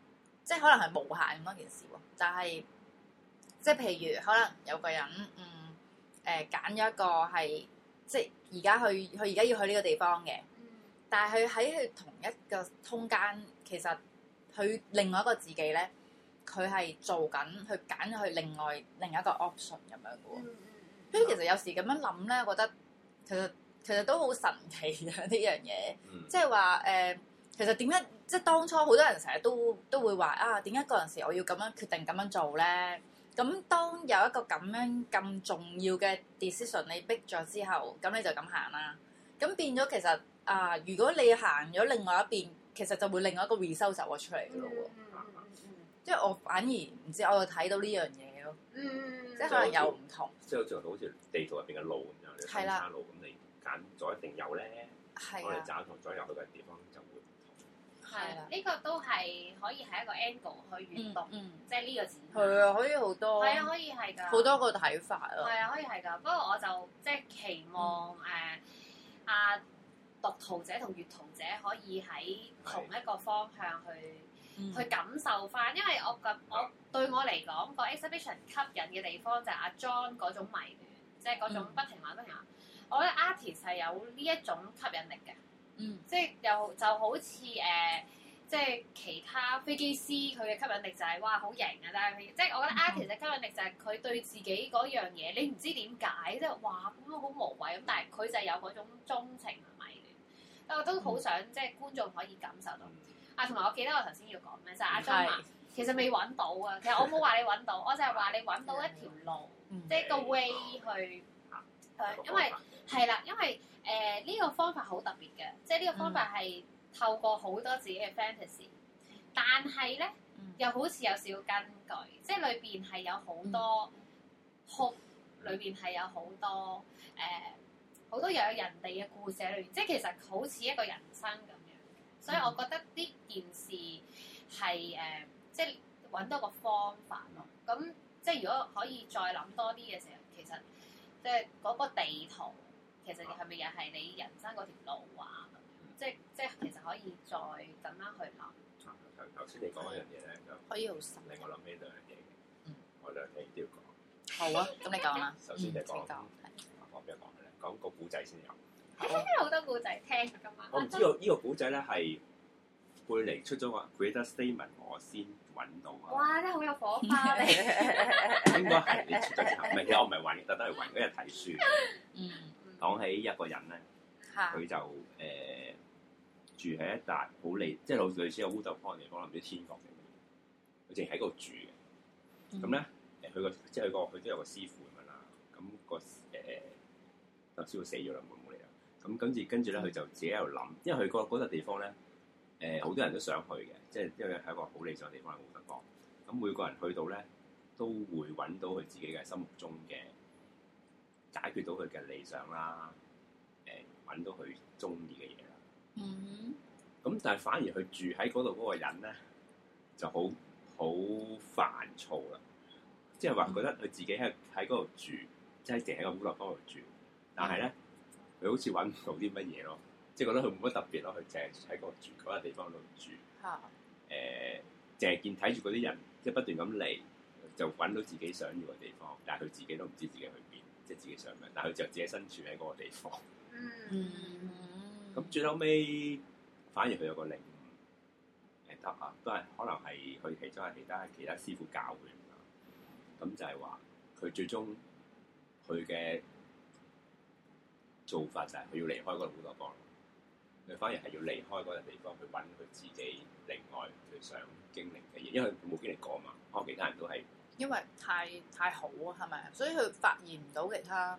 即係可能係無限咁多件事喎。但係即係譬如可能有個人嗯誒揀咗一個係即係而家去佢而家要去呢個地方嘅，但係佢喺佢同一個空間，其實佢另外一個自己咧，佢係做緊去揀佢另外另一個 option 咁樣嘅喎。所以其實有時咁樣諗咧，我覺得其實其實都好神奇嘅呢樣嘢，即係話誒，其實點解即係當初好多人成日都都會話啊，點解嗰陣時我要咁樣決定咁樣做咧？咁當有一個咁樣咁重要嘅 decision 你逼咗之後，咁你就咁行啦。咁變咗其實啊，如果你行咗另外一邊，其實就會另外一個 result 走咗出嚟嘅咯喎。即係我反而唔知，我就睇到呢樣嘢咯。即係可能有唔同。 即係好似好似地圖入邊嘅路咁樣，你分叉路咁你揀咗一定有咧。我哋找同咗入去嘅地方就會唔同。 係啦，呢個都係可以係一個 angle 去閲讀，即係呢個字。 係啊，可以好多。 係啊，可以係㗎。 好多個睇法咯。 係啊，可以係㗎。不過我就即係期望誒啊讀圖者同閲圖者可以喺同一個方向去。嗯、去感受翻，因為我覺我對我嚟講個 exhibition 吸引嘅地方就係阿 John 嗰種迷戀，即係嗰種不停玩不停玩。嗯、我覺得 artist 係有呢一種吸引力嘅，嗯，即係又就好似誒、呃，即係其他飛機師佢嘅吸引力就係、是、哇好型啊！但係即係我覺得 artist 嘅吸引力就係佢對自己嗰樣嘢，你唔知點解，即係哇咁樣好無謂咁，但係佢就係有嗰種鍾情同迷戀。我都好想、嗯、即係觀眾可以感受到。啊，同埋我記得我頭先要講咩，就係、是、阿 John 話其實未揾到啊。其實我冇話你揾到，我就係話你揾到一條路，即係個 way 去，誒，因為係啦，因為誒呢、呃這個方法好特別嘅，即係呢個方法係透過好多自己嘅 fantasy，但係咧又好似有少少根據，即係裏邊係有好多 hope，裏邊係有好多誒好、呃、多又有人哋嘅故事喺裏邊，即係其實好似一個人生咁。所以我覺得呢件事係誒、呃，即係揾到個方法咯。咁即係如果可以再諗多啲嘅時候，其實即係嗰個地圖，其實係咪又係你人生嗰條路啊？即係即係其實可以再咁樣去諗。頭頭先你講一樣嘢咧，就可以好深。 令我諗起兩樣嘢嘅。嗯，我兩樣嘢都要講。 好啊，咁你講啦。 首先就講，我講邊個講嘅咧？講個古仔先有。 好多故仔聽㗎嘛！ 我唔知道呢個古仔咧係貝尼出咗個 Greater Statement，我先揾到啊！ 哇！真係好有火花嚟。 應該係你出咗之後，唔係，其實我唔係揾，特登去揾嗰日睇書。嗯。講起一個人咧，佢就誒、呃、住喺一笪好離，即係類類似個烏托邦嘅地方，唔知天國定乜嘢。佢淨喺嗰度住嘅。咁咧、嗯，誒佢個即係佢個佢都有個師傅咁樣啦。咁、那個誒個、呃、師傅死咗啦，冇冇理啦。咁跟住跟住咧，佢就自己喺度諗，因為佢嗰嗰笪地方咧，誒、呃、好多人都想去嘅，即係因為係一個好理想嘅地方，係烏托邦。咁每個人去到咧，都會揾到佢自己嘅心目中嘅解決到佢嘅理想啦，誒、呃、揾到佢中意嘅嘢啦。嗯咁、mm hmm. 但係反而佢住喺嗰度嗰個人咧，就好好煩躁啦，即係話覺得佢自己喺喺嗰度住，即係淨喺個烏托邦度住，但係咧。佢好似揾唔到啲乜嘢咯，即係覺得佢冇乜特別咯，佢淨係喺個住嗰個地方度住。嚇、啊！誒，淨係見睇住嗰啲人，即係不斷咁嚟，就揾到自己想要嘅地方，但係佢自己都唔知自己去邊，即係自己想咩，但係佢就自己身處喺嗰個地方。嗯。咁最後尾，反而佢有個領悟，誒得啊，都係可能係佢其中係其他其他師傅教佢。咁就係話，佢最終佢嘅做法就係佢要離開嗰個烏托邦，佢反而係要離開嗰個地方去揾佢自己另外佢想經歷嘅嘢，因為佢冇經歷過嘛。可能其他人都係因為太太好啊，係咪？所以佢發現唔到其他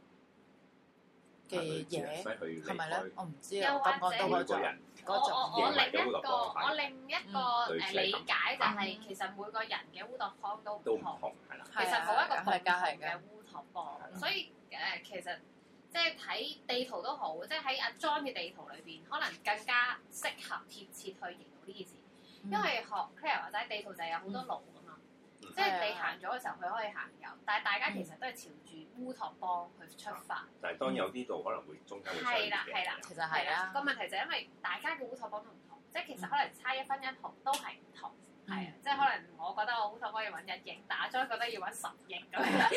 嘅嘢，係咪咧？我唔知啊。 又或者每個人我我我另一個我另一個誒理解就係其實每個人嘅烏托邦都唔同，係啦。其實冇一個共同嘅烏托邦，所以誒其實。即係睇地圖都好，即係喺阿 John 嘅地圖裏邊，可能更加適合貼切去形容呢件事。嗯、因為學 Claire 或者地圖就係有好多路噶嘛，嗯、即係你行咗嘅時候，佢可以行右，但係大家其實都係朝住烏托邦去出發。嗯、 但係當有啲路可能會中間會相係啦係啦，其實係啦。個問題就係因為大家嘅烏托邦都唔同，即係其實可能差一分一毫都係唔同。 係啊，即係可能我覺得我好想可以揾一億，但阿 John 覺得要揾十億咁樣。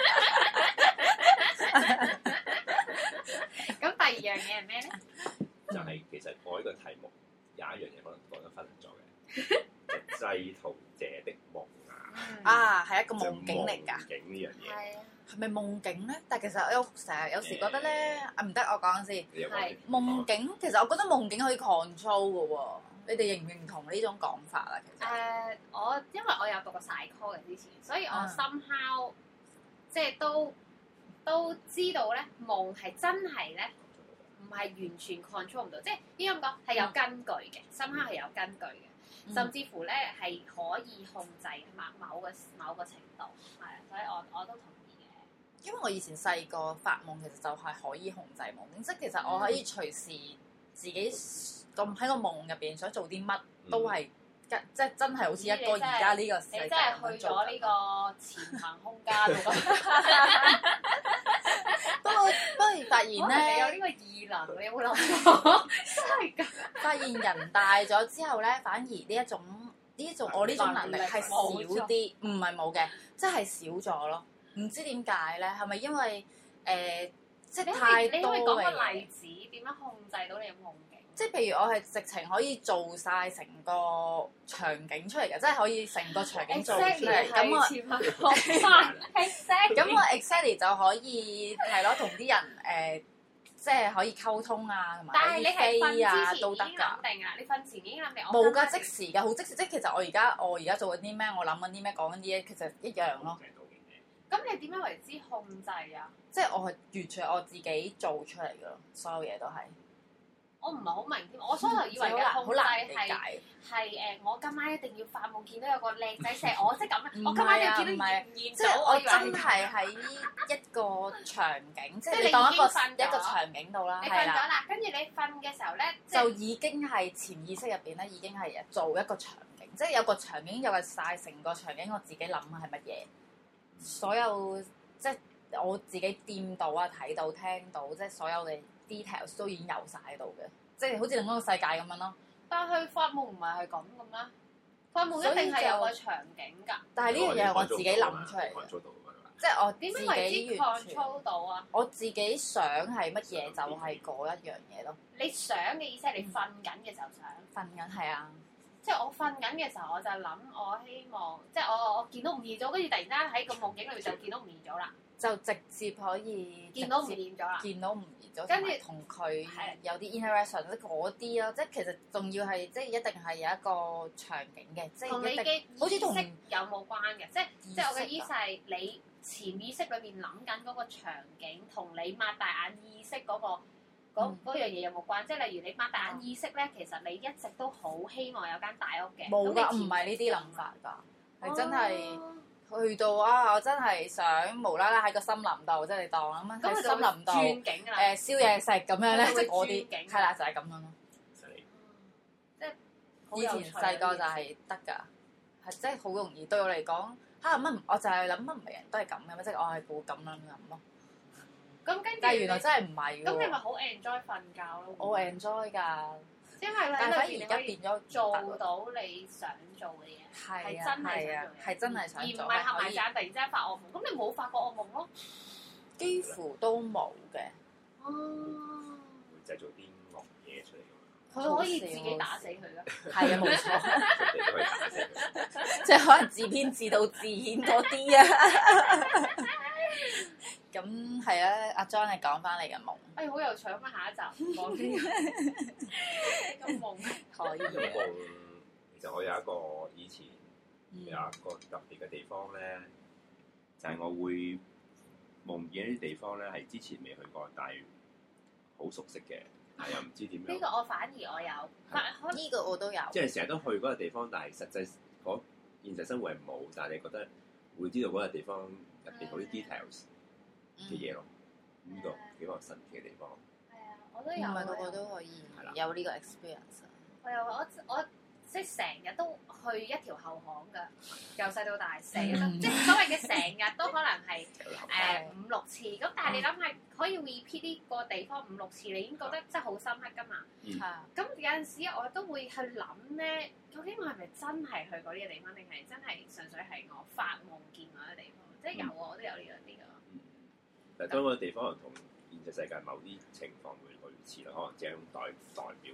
咁第二樣嘢係咩咧？ 就係其實我呢個題目有一樣嘢可能講得分咗嘅，就製圖者的夢啊！ 啊，係一個夢境嚟㗎。 夢境呢樣嘢係啊， 係咪夢境咧？但係其實我成日有時覺得咧，啊唔得，我講先。 係夢境，其實我覺得夢境可以 control 嘅喎。你哋認唔認同呢種講法啊？其實誒，我因為我有讀過 psycho 嘅之前，所以我 somehow 即係都都知道咧，夢係真係咧。唔係完全 control 唔到，即係應該咁講係有根據嘅，深刻係有根據嘅，嗯、甚至乎咧係可以控制某某個某個程度，係啊，所以我我都同意嘅。 因為我以前細個發夢其實就係可以控制夢境，即係其實我可以隨時自己咁喺個夢入邊想做啲乜都係，嗯、即係真係好似一個而家呢個世界你真係去咗呢個潛行空間喎！ 不過不過發現咧， 你有呢個異能，你有冇諗過？真係㗎！ 發現人大咗之後咧，反而呢一種呢一種我呢種能力係少啲，唔係冇嘅，即係少咗咯。唔知點解咧？係咪因為誒、呃、即係太多嘅嘢？你可以講個例子，點樣控制到你嘅夢境？即係譬如我係直情可以做晒成個場景出嚟嘅，即係可以成個場景做出嚟。咁我咁我 exactly 就可以係咯，同啲人誒、呃，即係可以溝通啊，同埋可以飛啊都得㗎。 定啊！你瞓前已經諗定。 冇㗎，即時㗎，好即時。即係其實我而家我而家做緊啲咩，我諗緊啲咩，講緊啲嘢，其實一樣咯。 咁你點樣為之控制啊？ 即係我係完全我自己做出嚟㗎咯，所有嘢都係。 我唔係好明添，我初頭以為嘅控制係係誒，我今晚一定要發夢見到有個靚仔錫我，即係咁樣。我今晚要見到現現即係我真係喺一個場景，即係你當一個一個場景度啦。 你瞓咗啦，跟住你瞓嘅時候咧， 就已經係潛意識入邊咧，已經係做一個場景，即係有個場景有個晒成個場景，我自己諗係乜嘢，所有即係我自己掂到啊、睇到、聽到，即係所有嘅 details 都已經有晒喺度嘅，即係好似另一個世界咁樣咯。 但係發夢唔係係咁嘅咩？發夢一定係有個場景㗎。 但係呢樣嘢係我自己諗出嚟嘅，即係我點樣為之 control 到啊？ 我自己想係乜嘢就係嗰一樣嘢咯。 你想嘅意思係你瞓緊嘅時候想？ 瞓緊係啊。 即係我瞓緊嘅時候，我就諗我希望，即係我我見到吳彥祖，跟住突然間喺個夢境裏面就見到吳彥祖啦。就直接可以見到吳彥祖啦， 見到吳彥祖，跟住同佢有啲 interaction，即嗰啲咯，即係其實仲要係即係一定係有一個場景嘅，即係一定好似同有冇關嘅，即係即係我嘅意思係你潛意識裏面諗緊嗰個場景，同你擘大眼意識嗰個嗰嗰樣嘢有冇關？即係例如你擘大眼意識咧，其實你一直都好希望有間大屋嘅， 冇㗎，唔係呢啲諗法㗎，係真係。去到啊！我真係想無啦啦喺個森林度，即係你當咁樣喺森林度誒燒嘢食咁樣咧，即係嗰啲係啦，就係咁樣咯。 即係以前細個就係得㗎，係即係好容易對我嚟講嚇乜？我就係諗乜唔係人都係咁嘅咩？即係我係估咁樣諗咯。 咁跟住， 但係原來真係唔係喎。 咁你咪好 enjoy 瞓覺咯？ 我 enjoy 㗎。 因為咧， 但係反而而家變咗做到你想做嘅嘢，係真係想做， 係真係想做， 而唔係合埋眼突然之間發惡夢。咁你冇發過惡夢咯？ 幾乎都冇嘅。 哦， 會製造啲惡嘢出嚟㗎嘛？ 佢可以自己打死佢㗎。 係啊，冇錯。即係可能自編自導自演嗰啲啊。咁係啊，阿 John 你講翻你嘅夢。 哎，好有趣啊！下一集講啲個夢可以。 個夢其實我有一個以前有一個特別嘅地方咧，就係我會夢見一啲地方咧，係之前未去過，但係好熟悉嘅，但又唔知點樣。 呢個我反而我有， 呢個我都有。 即係成日都去嗰個地方，但係實際嗰現實生活係冇，但係你覺得會知道嗰個地方入邊好啲 details 嘅嘢咯。呢個幾個神奇嘅地方。 係啊，我都有。 唔係個個都可以有呢個 experience。 我有我我即係成日都去一條後巷㗎，由細到大成日都，即係所謂嘅成日都可能係誒五六次。咁但係你諗下，可以 repeat 呢個地方五六次，你已經覺得真係好深刻㗎嘛？係啊。咁有陣時我都會去諗咧，究竟我係咪真係去過呢個地方，定係真係純粹係我發夢見過嘅地方？即係有啊，我都有呢樣啲㗎。 但係當個地方同現實世界某啲情況會類似啦，可能只係一種代代表。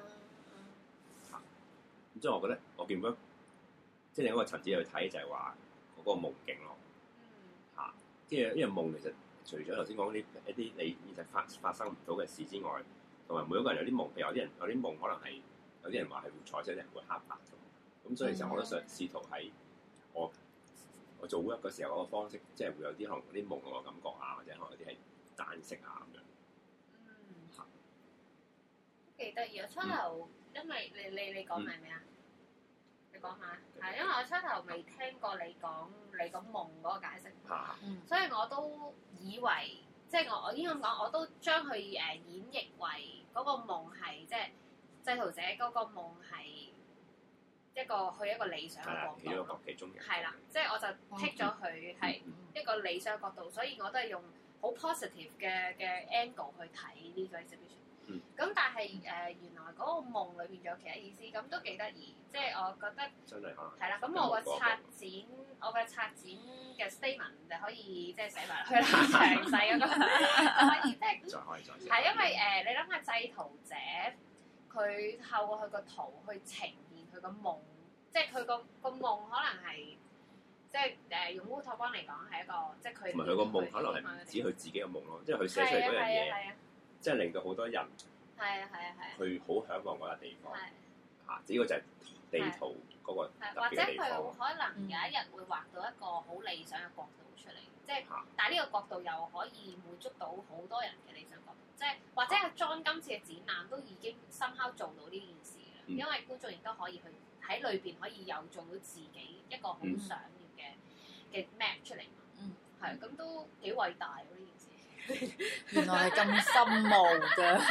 咁即係我覺得，我見到即係另一個層次去睇，就係話嗰個夢境咯。嚇、嗯，即係因為夢其實除咗頭先講啲一啲你現實發發生唔到嘅事之外，同埋每一個人有啲夢，譬如有啲人有啲夢可能係有啲人話係會彩色，有啲人會黑白咁。咁所以其實我都想試圖喺我我做 work 嘅時候嗰個方式，即係會有啲可能啲夢嘅感覺啊，或者可能有啲係單色啊咁樣。 嗯。嚇，都幾得意啊！初頭。因為你你你講係咩啊？你講下，係因為我初頭未聽過你講你個夢嗰個解釋，啊、所以我都以為即係我我應該咁講，我都將佢誒演繹為嗰個夢係即係製圖者嗰個夢係一個去一個理想嘅角度，一個其中嘅係啦，即係我就剔咗佢係一個理想角度，所以我都係用好 positive 嘅嘅 angle 去睇呢個 exhibition。咁、嗯、但係誒、呃、原來嗰個夢裏邊仲有其他意思，咁都幾得意。即係我覺得真係係啦。咁我個策展，我嘅策展嘅 statement 就可以即係寫埋去啦，詳細嗰個可以即係。再可以再。係因為誒、呃，你諗下製圖者，佢透過佢個圖去呈現佢個夢，即係佢個個夢可能係即係誒、呃、用烏托邦嚟講係一個即係佢。同埋佢個夢可能係唔止佢自己嘅夢咯，即係佢寫出嚟嗰樣嘢。即係令到好多人係啊係啊係啊，佢好嚮往嗰笪地方嚇，只不過就係地圖嗰個特別嘅地方。或者佢可能有一日會畫到一個好理想嘅角度出嚟，即係但係呢個角度又可以滿足到好多人嘅理想角度。即係或者阿 John 今次嘅展覽都已經深刻做到呢件事啦，因為觀眾亦都可以去喺裏邊可以有做到自己一個好想要嘅嘅 map 出嚟。嗯，係咁都幾偉大喎呢件事。 原來係咁深奧㗎，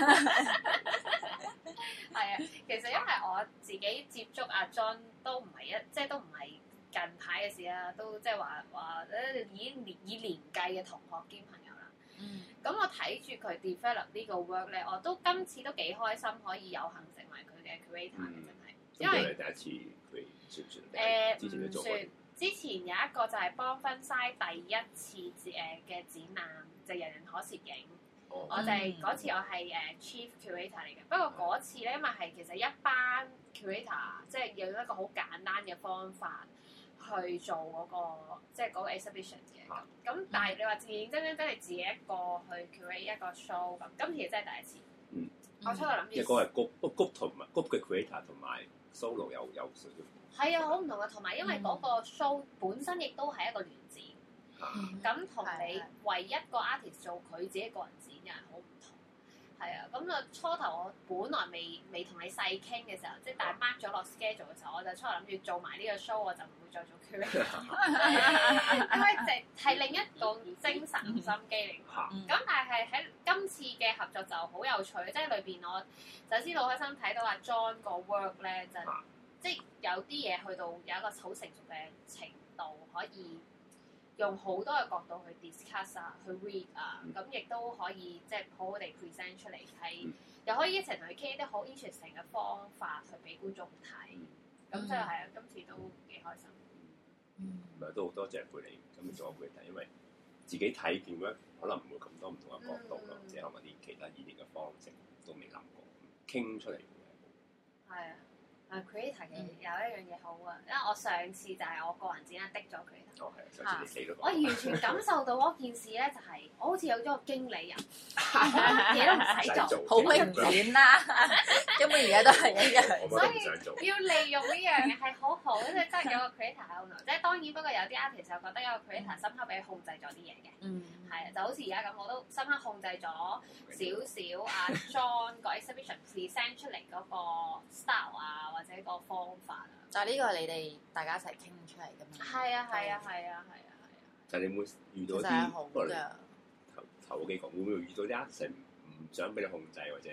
係啊，其實因為我自己接觸阿 John 都唔係一，即係都唔係近排嘅事啦，都即係話話誒已經年以年計嘅同學兼朋友啦。嗯，咁我睇住佢 develop 呢個 work 咧，我都今次都幾開心，可以有幸成為佢嘅 creator 嘅，真係。因為第一次佢算唔算？誒唔算。之前有一個就係幫分曬第一次誒嘅展覽，就係、人人可攝影。Oh. 我就係、係、嗰次我係誒 chief curator 嚟嘅。不過嗰次咧，因為係其實一班 curator，即係用一個好簡單嘅方法去做嗰、嗰個即係嗰個 exhibition 嘅。咁、oh. 但係你話認認真真真係自己一個去 curate 一個 show 咁，今次真係第一次。嗯。Mm. 我初頭諗住。一個係 group group 同埋 group 嘅 curator 同埋 solo 有有少少。係啊，好唔同嘅，同埋因為嗰個 show 本身亦都係一個聯展，咁同、嗯、你唯一個 artist 做佢自己個人展又係好唔同。係啊，咁啊初頭我本來未未同你細傾嘅時候，即係但係 mark 咗落 schedule 嘅時候，我就初頭諗住做埋呢個 show，我就唔會再做 curator，因為就係另一個精神心機嚟。咁、嗯、但係喺今次嘅合作就好有趣，即係裏邊我首先好開心睇到阿 John 個 work 咧就。即係有啲嘢去到有一個好成熟嘅程度，可以用好多嘅角度去 discuss 啊，去 read 啊，咁亦都可以即係好好地 present 出嚟，係又可以一齊同佢傾一啲好 interesting 嘅方法去俾觀眾睇。咁所以係啊，今次都幾開心。嗯，唔係都好多謝貝利咁做貝利，因為自己睇見咧，可能唔會咁多唔同嘅角度咯，即係可能啲其他演繹嘅方式都未諗過，傾出嚟會係好。係啊。啊 creator 嘅有一樣嘢好啊，因為我上次就係我個人展啦，的咗佢。哦，係，上次你死咗。我完全感受到嗰件事咧，就係我好似有咗個經理人，嘢都唔使做，好明顯啦。根本而家都係一樣，所以要利用呢樣嘢係好好，即係真係有個 creator 喺度。即係當然，不過有啲 artist 就覺得有個 creator 深刻俾佢控制咗啲嘢嘅。嗯，係啊，就好似而家咁，我都深刻控制咗少少阿 John 個 exhibition present 出嚟嗰個 style 啊。或者個方法啊，但係呢個係你哋大家一齊傾出嚟㗎嘛？係啊係啊係啊係啊係啊！就係你會遇到啲，不過頭頭幾個會唔會遇到啲 artist 唔想俾你控制，或者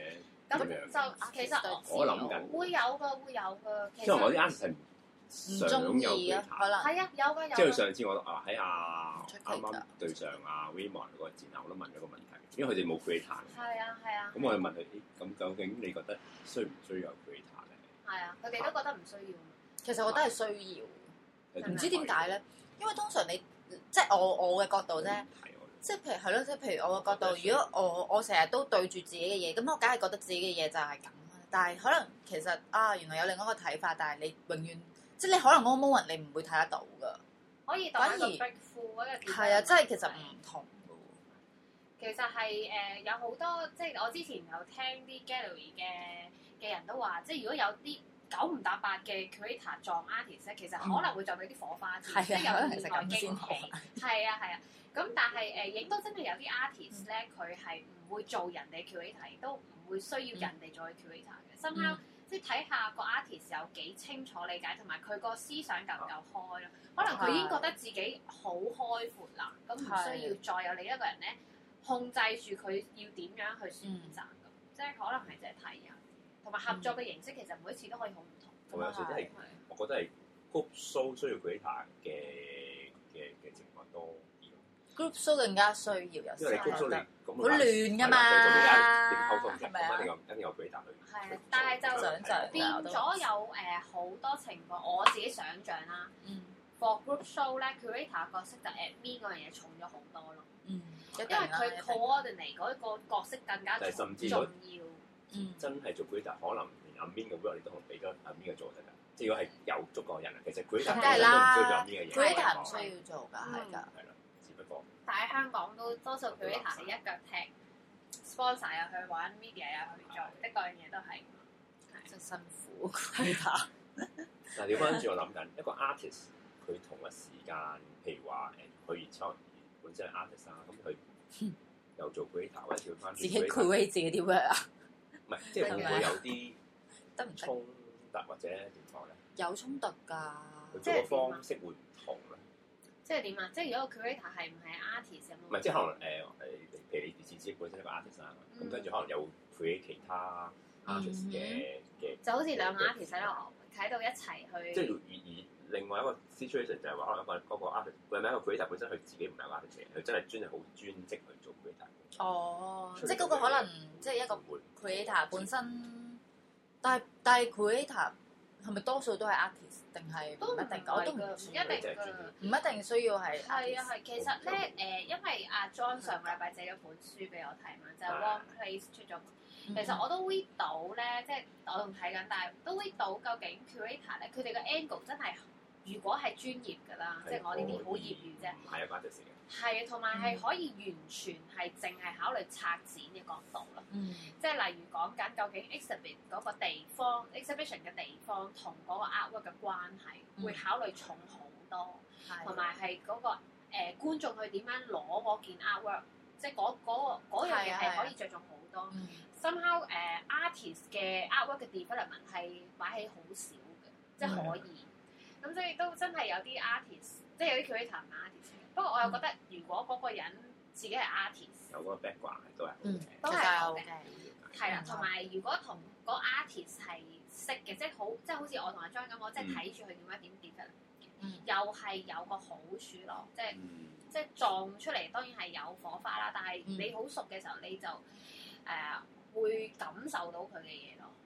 咁就其實我諗緊會有㗎，會有㗎。 因為我啲 artist 唔中意啊，可能係啊，有㗎有。 即係上次我啊喺阿啱啱對上阿 Raymond 嗰個展覽，我都問咗個問題，因為佢哋冇 creator。 係啊係啊。 咁我就問佢：咁究竟你覺得需唔需要有 creator 咧？ 係啊，佢哋都覺得唔需要。 其實我覺得係需要，唔知點解咧？因為通常你即係我我嘅角度啫，即係譬如係咯，即係譬如我嘅角度，如果我我成日都對住自己嘅嘢，咁我梗係覺得自己嘅嘢就係咁。但係可能其實啊，原來有另外一個睇法，但係你永遠即係你可能嗰個 moment 你唔會睇得到㗎。 可以當一個 breakthrough 嗰個。 係啊，即係其實唔同㗎喎。 其實係誒、呃、有好多，即係我之前有聽啲 gallery 嘅嘅人都話，即係如果有啲九唔搭八嘅 creator 撞 artist 咧，其實可能會撞到啲火花，嗯、即係有意外驚喜。係啊係啊，咁但係誒亦都真係有啲 artist 咧，佢係唔會做人哋 creator，亦都唔會需要人哋做佢 creator 嘅。深刻即係睇下個 artist 有幾清楚理解，同埋佢個思想夠唔夠開咯。可能佢已經覺得自己好開闊啦，咁唔需要再有另一個人咧控制住佢要點樣去選擇咁，即係可能係即係睇人。同埋合作嘅形式其實每一次都可以好唔同。 同埋有時都係，我覺得係 group show 需要 creator 嘅嘅嘅情況多啲。 group show 更加需要有，因為你 group show 你咁好亂㗎嘛， 係咪啊？一定有一定有 creator 去。 係，但係就變咗有誒好多情況，我自己想像啦。嗯。for group show 咧 ，creator 角色就 admin 嗰樣嘢重咗好多咯。嗯。因為佢 coordinate 嗰個角色更加重要。 嗯、 真係做 creator 可能連阿 Min 嘅 work 你都可能俾咗阿 Min 嘅做得㗎。即係如果係有足夠人啊，其實 creator 梗係啦， 都唔需要做阿 Min 嘅嘢。 creator 唔需要做㗎，係㗎。 係啦，只不過。 但喺香港都多數 creator 係一腳踢 sponsor 又去玩 media 又去做，的嗰樣嘢都係真辛苦 creator。 但係調翻轉我諗緊一個 artist，佢同一時間，譬如話誒，佢而家本身係 artist 啊，咁佢又做 creator 或者調翻自己 create 自己啲 work 啊。 唔係，即係會唔會有啲得唔衝突或者點講咧？ 有衝突㗎， 佢做嘅方式會唔同咧？ 即係點啊？即係如果個 creator 係唔係 artist 咁？ 唔係，即係可能誒誒，譬如你自己本身係個 artist 啊，咁跟住可能有 create 其他 artist 嘅嘅， 就好似兩個 artist 喺度喺度一齊去。 即係而而另外一個 situation 就係話，可能一個嗰個 artist，佢係咪一個 creator 本身佢自己唔係 artist 嘅，佢真係專係好專職去做 creator。 哦，即係嗰個可能即係一個 creator 本身，但係但係 creator 係咪多數都係 artist 定係唔一定？我都唔一定㗎， 唔一定需要係。 係啊係，其實咧誒，因為阿 John 上個禮拜借咗本書俾我睇嘛，就係 One Place 出咗。其實我都 read 到咧，即係我仲睇緊，但係都 read 到究竟 creator 咧，佢哋嘅 angle 真係如果係專業㗎啦，即係我呢啲好業餘啫。 唔係啊，關隻事嘅。係啊，同埋係可以完全係淨係考慮策展嘅角度咯。嗯。即係例如講緊究竟 exhibit 嗰個地方 exhibition 嘅地方同嗰個 artwork 嘅關係，嗯、會考慮重好多。同埋係嗰個誒、呃、觀眾去點樣攞嗰件 artwork，即係嗰嗰個嗰樣嘢係可以着重好多。嗯、somehow 誒、uh, artist 嘅 artwork 嘅 development 係擺喺好少嘅，即係可以。咁、嗯、所以都真係有啲 artist，即係有啲 creator 唔係 artist。不過我又覺得，如果嗰個人自己係 artist， 有嗰個 background 都係嗯， 都係好嘅，係啦。同埋如果同個 artist 係識嘅，即係好，即係好似我同阿張咁，我即係睇住佢點樣點點嘅，嗯、又係有個好處咯。即係、嗯、即係撞出嚟，當然係有火花啦。但係你好熟嘅時候，你就誒、呃、會感受到佢嘅嘢咯。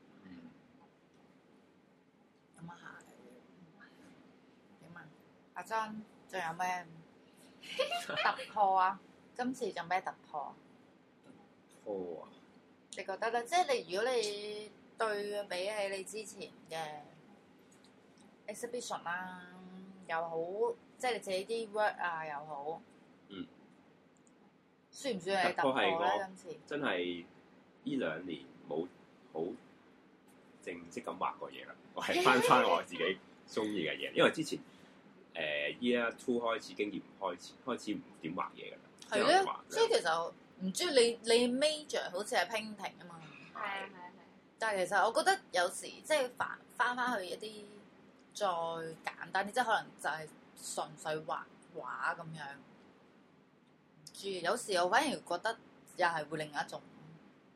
咁啊係，點啊？阿張仲有咩？突破啊！今次仲咩突破？ 突破啊！ 你覺得咧？即係你如果你對比起你之前嘅 exhibition 啦，又好，即係你自己啲 work 啊又好，嗯，算唔算係突破咧？今次真係呢兩年冇好正式咁畫過嘢啦，我係翻翻我自己中意嘅嘢，因為之前。誒 year two 開始經驗開始開始唔點畫嘢㗎啦， 係咧，即係其實唔知你你 major 好似係 painting 啊嘛， 係啊係啊係。 但係其實我覺得有時即係翻翻翻去一啲再簡單啲，即係可能就係純粹畫畫咁樣。唔知有時我反而覺得又係會另一種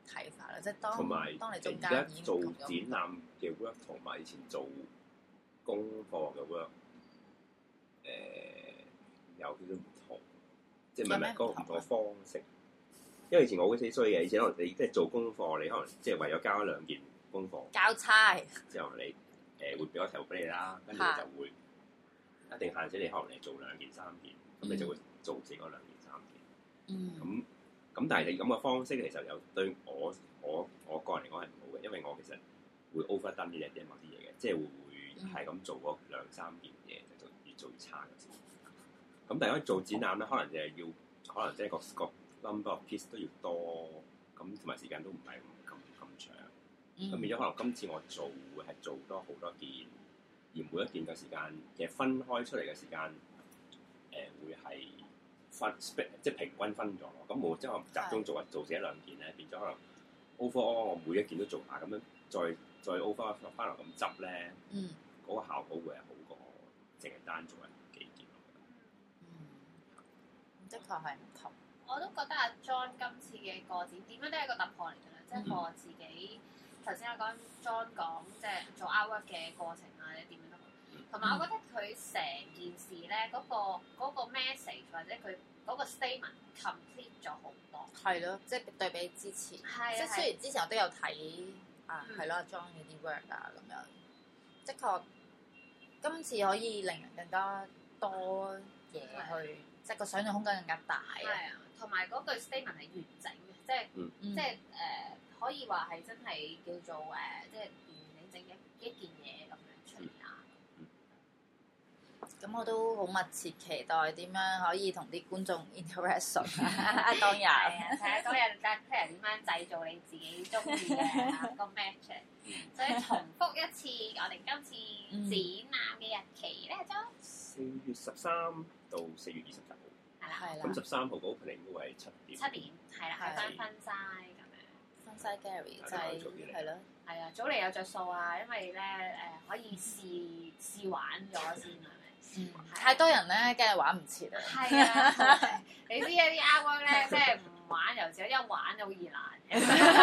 睇法啦，即係當同埋當你中間而家做展覽嘅 work 同埋以前做功課嘅 work，誒、呃、有少少唔同，即係唔係唔係嗰個唔同嘅方式。因為以前我好死衰嘅，以前可能你即係做功課，你可能即係為咗交一兩件功課， 交差之後你誒、呃、會俾個題目俾你啦，跟住你就會一定限制你，可能你做兩件三件，咁、嗯、你就會做自己嗰兩件三件。嗯。咁咁，但係你咁嘅方式其實有對我我我個人嚟講係唔好嘅，因為我其實會 overdone 呢啲嘢某啲嘢嘅，即係會會係咁做嗰兩三件嘢，就越做越差嘅。咁但係如果做展覽咧，可能就係要可能即係個個。number of piece 都要多，咁同埋時間都唔係咁咁長，咁變咗可能今次我做會係做多好多件，而每一件嘅時間其實分開出嚟嘅時間，誒、呃、會係分即係平均分咗咯。咁我即係我集中做做死一兩件咧，變咗可能 overall 我每一件都做下，咁樣再再 overall 翻落咁執咧，嗰、嗯、個效果會係好過淨係單做一幾件。 嗯，的確係唔同。 我都覺得阿 John 今次嘅個展點樣都係一個突破嚟㗎啦，即係我自己頭先我講 John 講即係做 artwork 嘅過程啊，或者點樣都好，同埋我覺得佢成件事咧嗰、嗰個嗰個 message 或者佢嗰個 statement complete 咗好多。係咯，即係對比之前， 係即係雖然之前我都有睇啊，係咯 John 嘅啲 work 啊咁樣，的確今次可以令人更加多嘢去，即係個想像空間更加大啊。 同埋嗰句 statement 係完整嘅，即係、嗯、即係誒、呃、可以話係真係叫做誒、呃，即係完完整整一一件嘢咁樣出嚟啊！ 咁、嗯、我都好密切期待點樣可以同啲觀眾 interaction 啊！當日睇下嗰日睇人點樣製造你自己中意嘅個 match。所以重複一次，我哋今次展覽嘅日期咧，就四月十三到四月二十九。 係啦， 咁十三號嗰 opening 都係七點。 七點係啦，去翻分曬咁樣。 分曬 Gary 就係係咯， 係啊，早嚟有着數啊，因為咧誒可以試試玩咗先係咪？ 嗯，太多人咧，梗係玩唔切啊。 係啊，你知啊啲 artwork 咧，即係唔玩又少，一玩就好易爛嘅。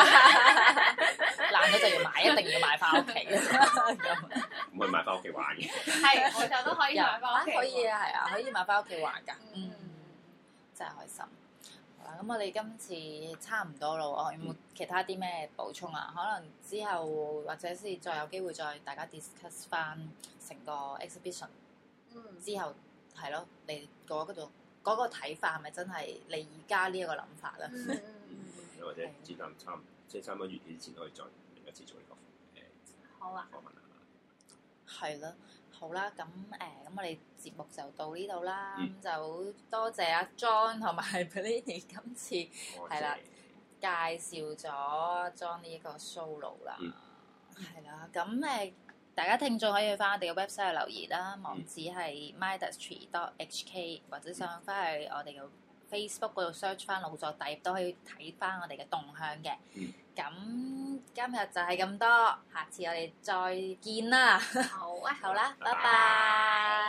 爛咗就要買，一定要買翻屋企。 唔可以買翻屋企玩嘅。 係，我就都可以買翻屋企。 可以啊，係啊，可以買翻屋企玩㗎。嗯。真係開心，好啦，咁我哋今次差唔多咯，有冇其他啲咩補充啊？可能之後或者是再有機會再大家 discuss 翻成個 exhibition，嗯，之後係咯，你嗰嗰度嗰個睇法係咪真係你而家呢一個諗法咧？ 嗯嗯，或者展覽差唔即係差唔多完結之前可以再另一次做呢個誒好啊， 訪問啊， 係咯。好啦，咁誒，咁我哋節目就到呢度啦。咁、嗯、就多謝阿 John 同埋 Bellini 今次係啦，介紹咗 John 呢一個 solo 啦。係啦、嗯，咁誒，大家聽眾可以去翻我哋嘅 website 留言啦，網址係 mindustry dot h k， 或者上翻去我哋嘅 Facebook 嗰度 search 翻腦作大業都可以睇翻我哋嘅動向嘅。咁、嗯、今日就係咁多，下次我哋再見啦。 好啊， 好啦，拜拜。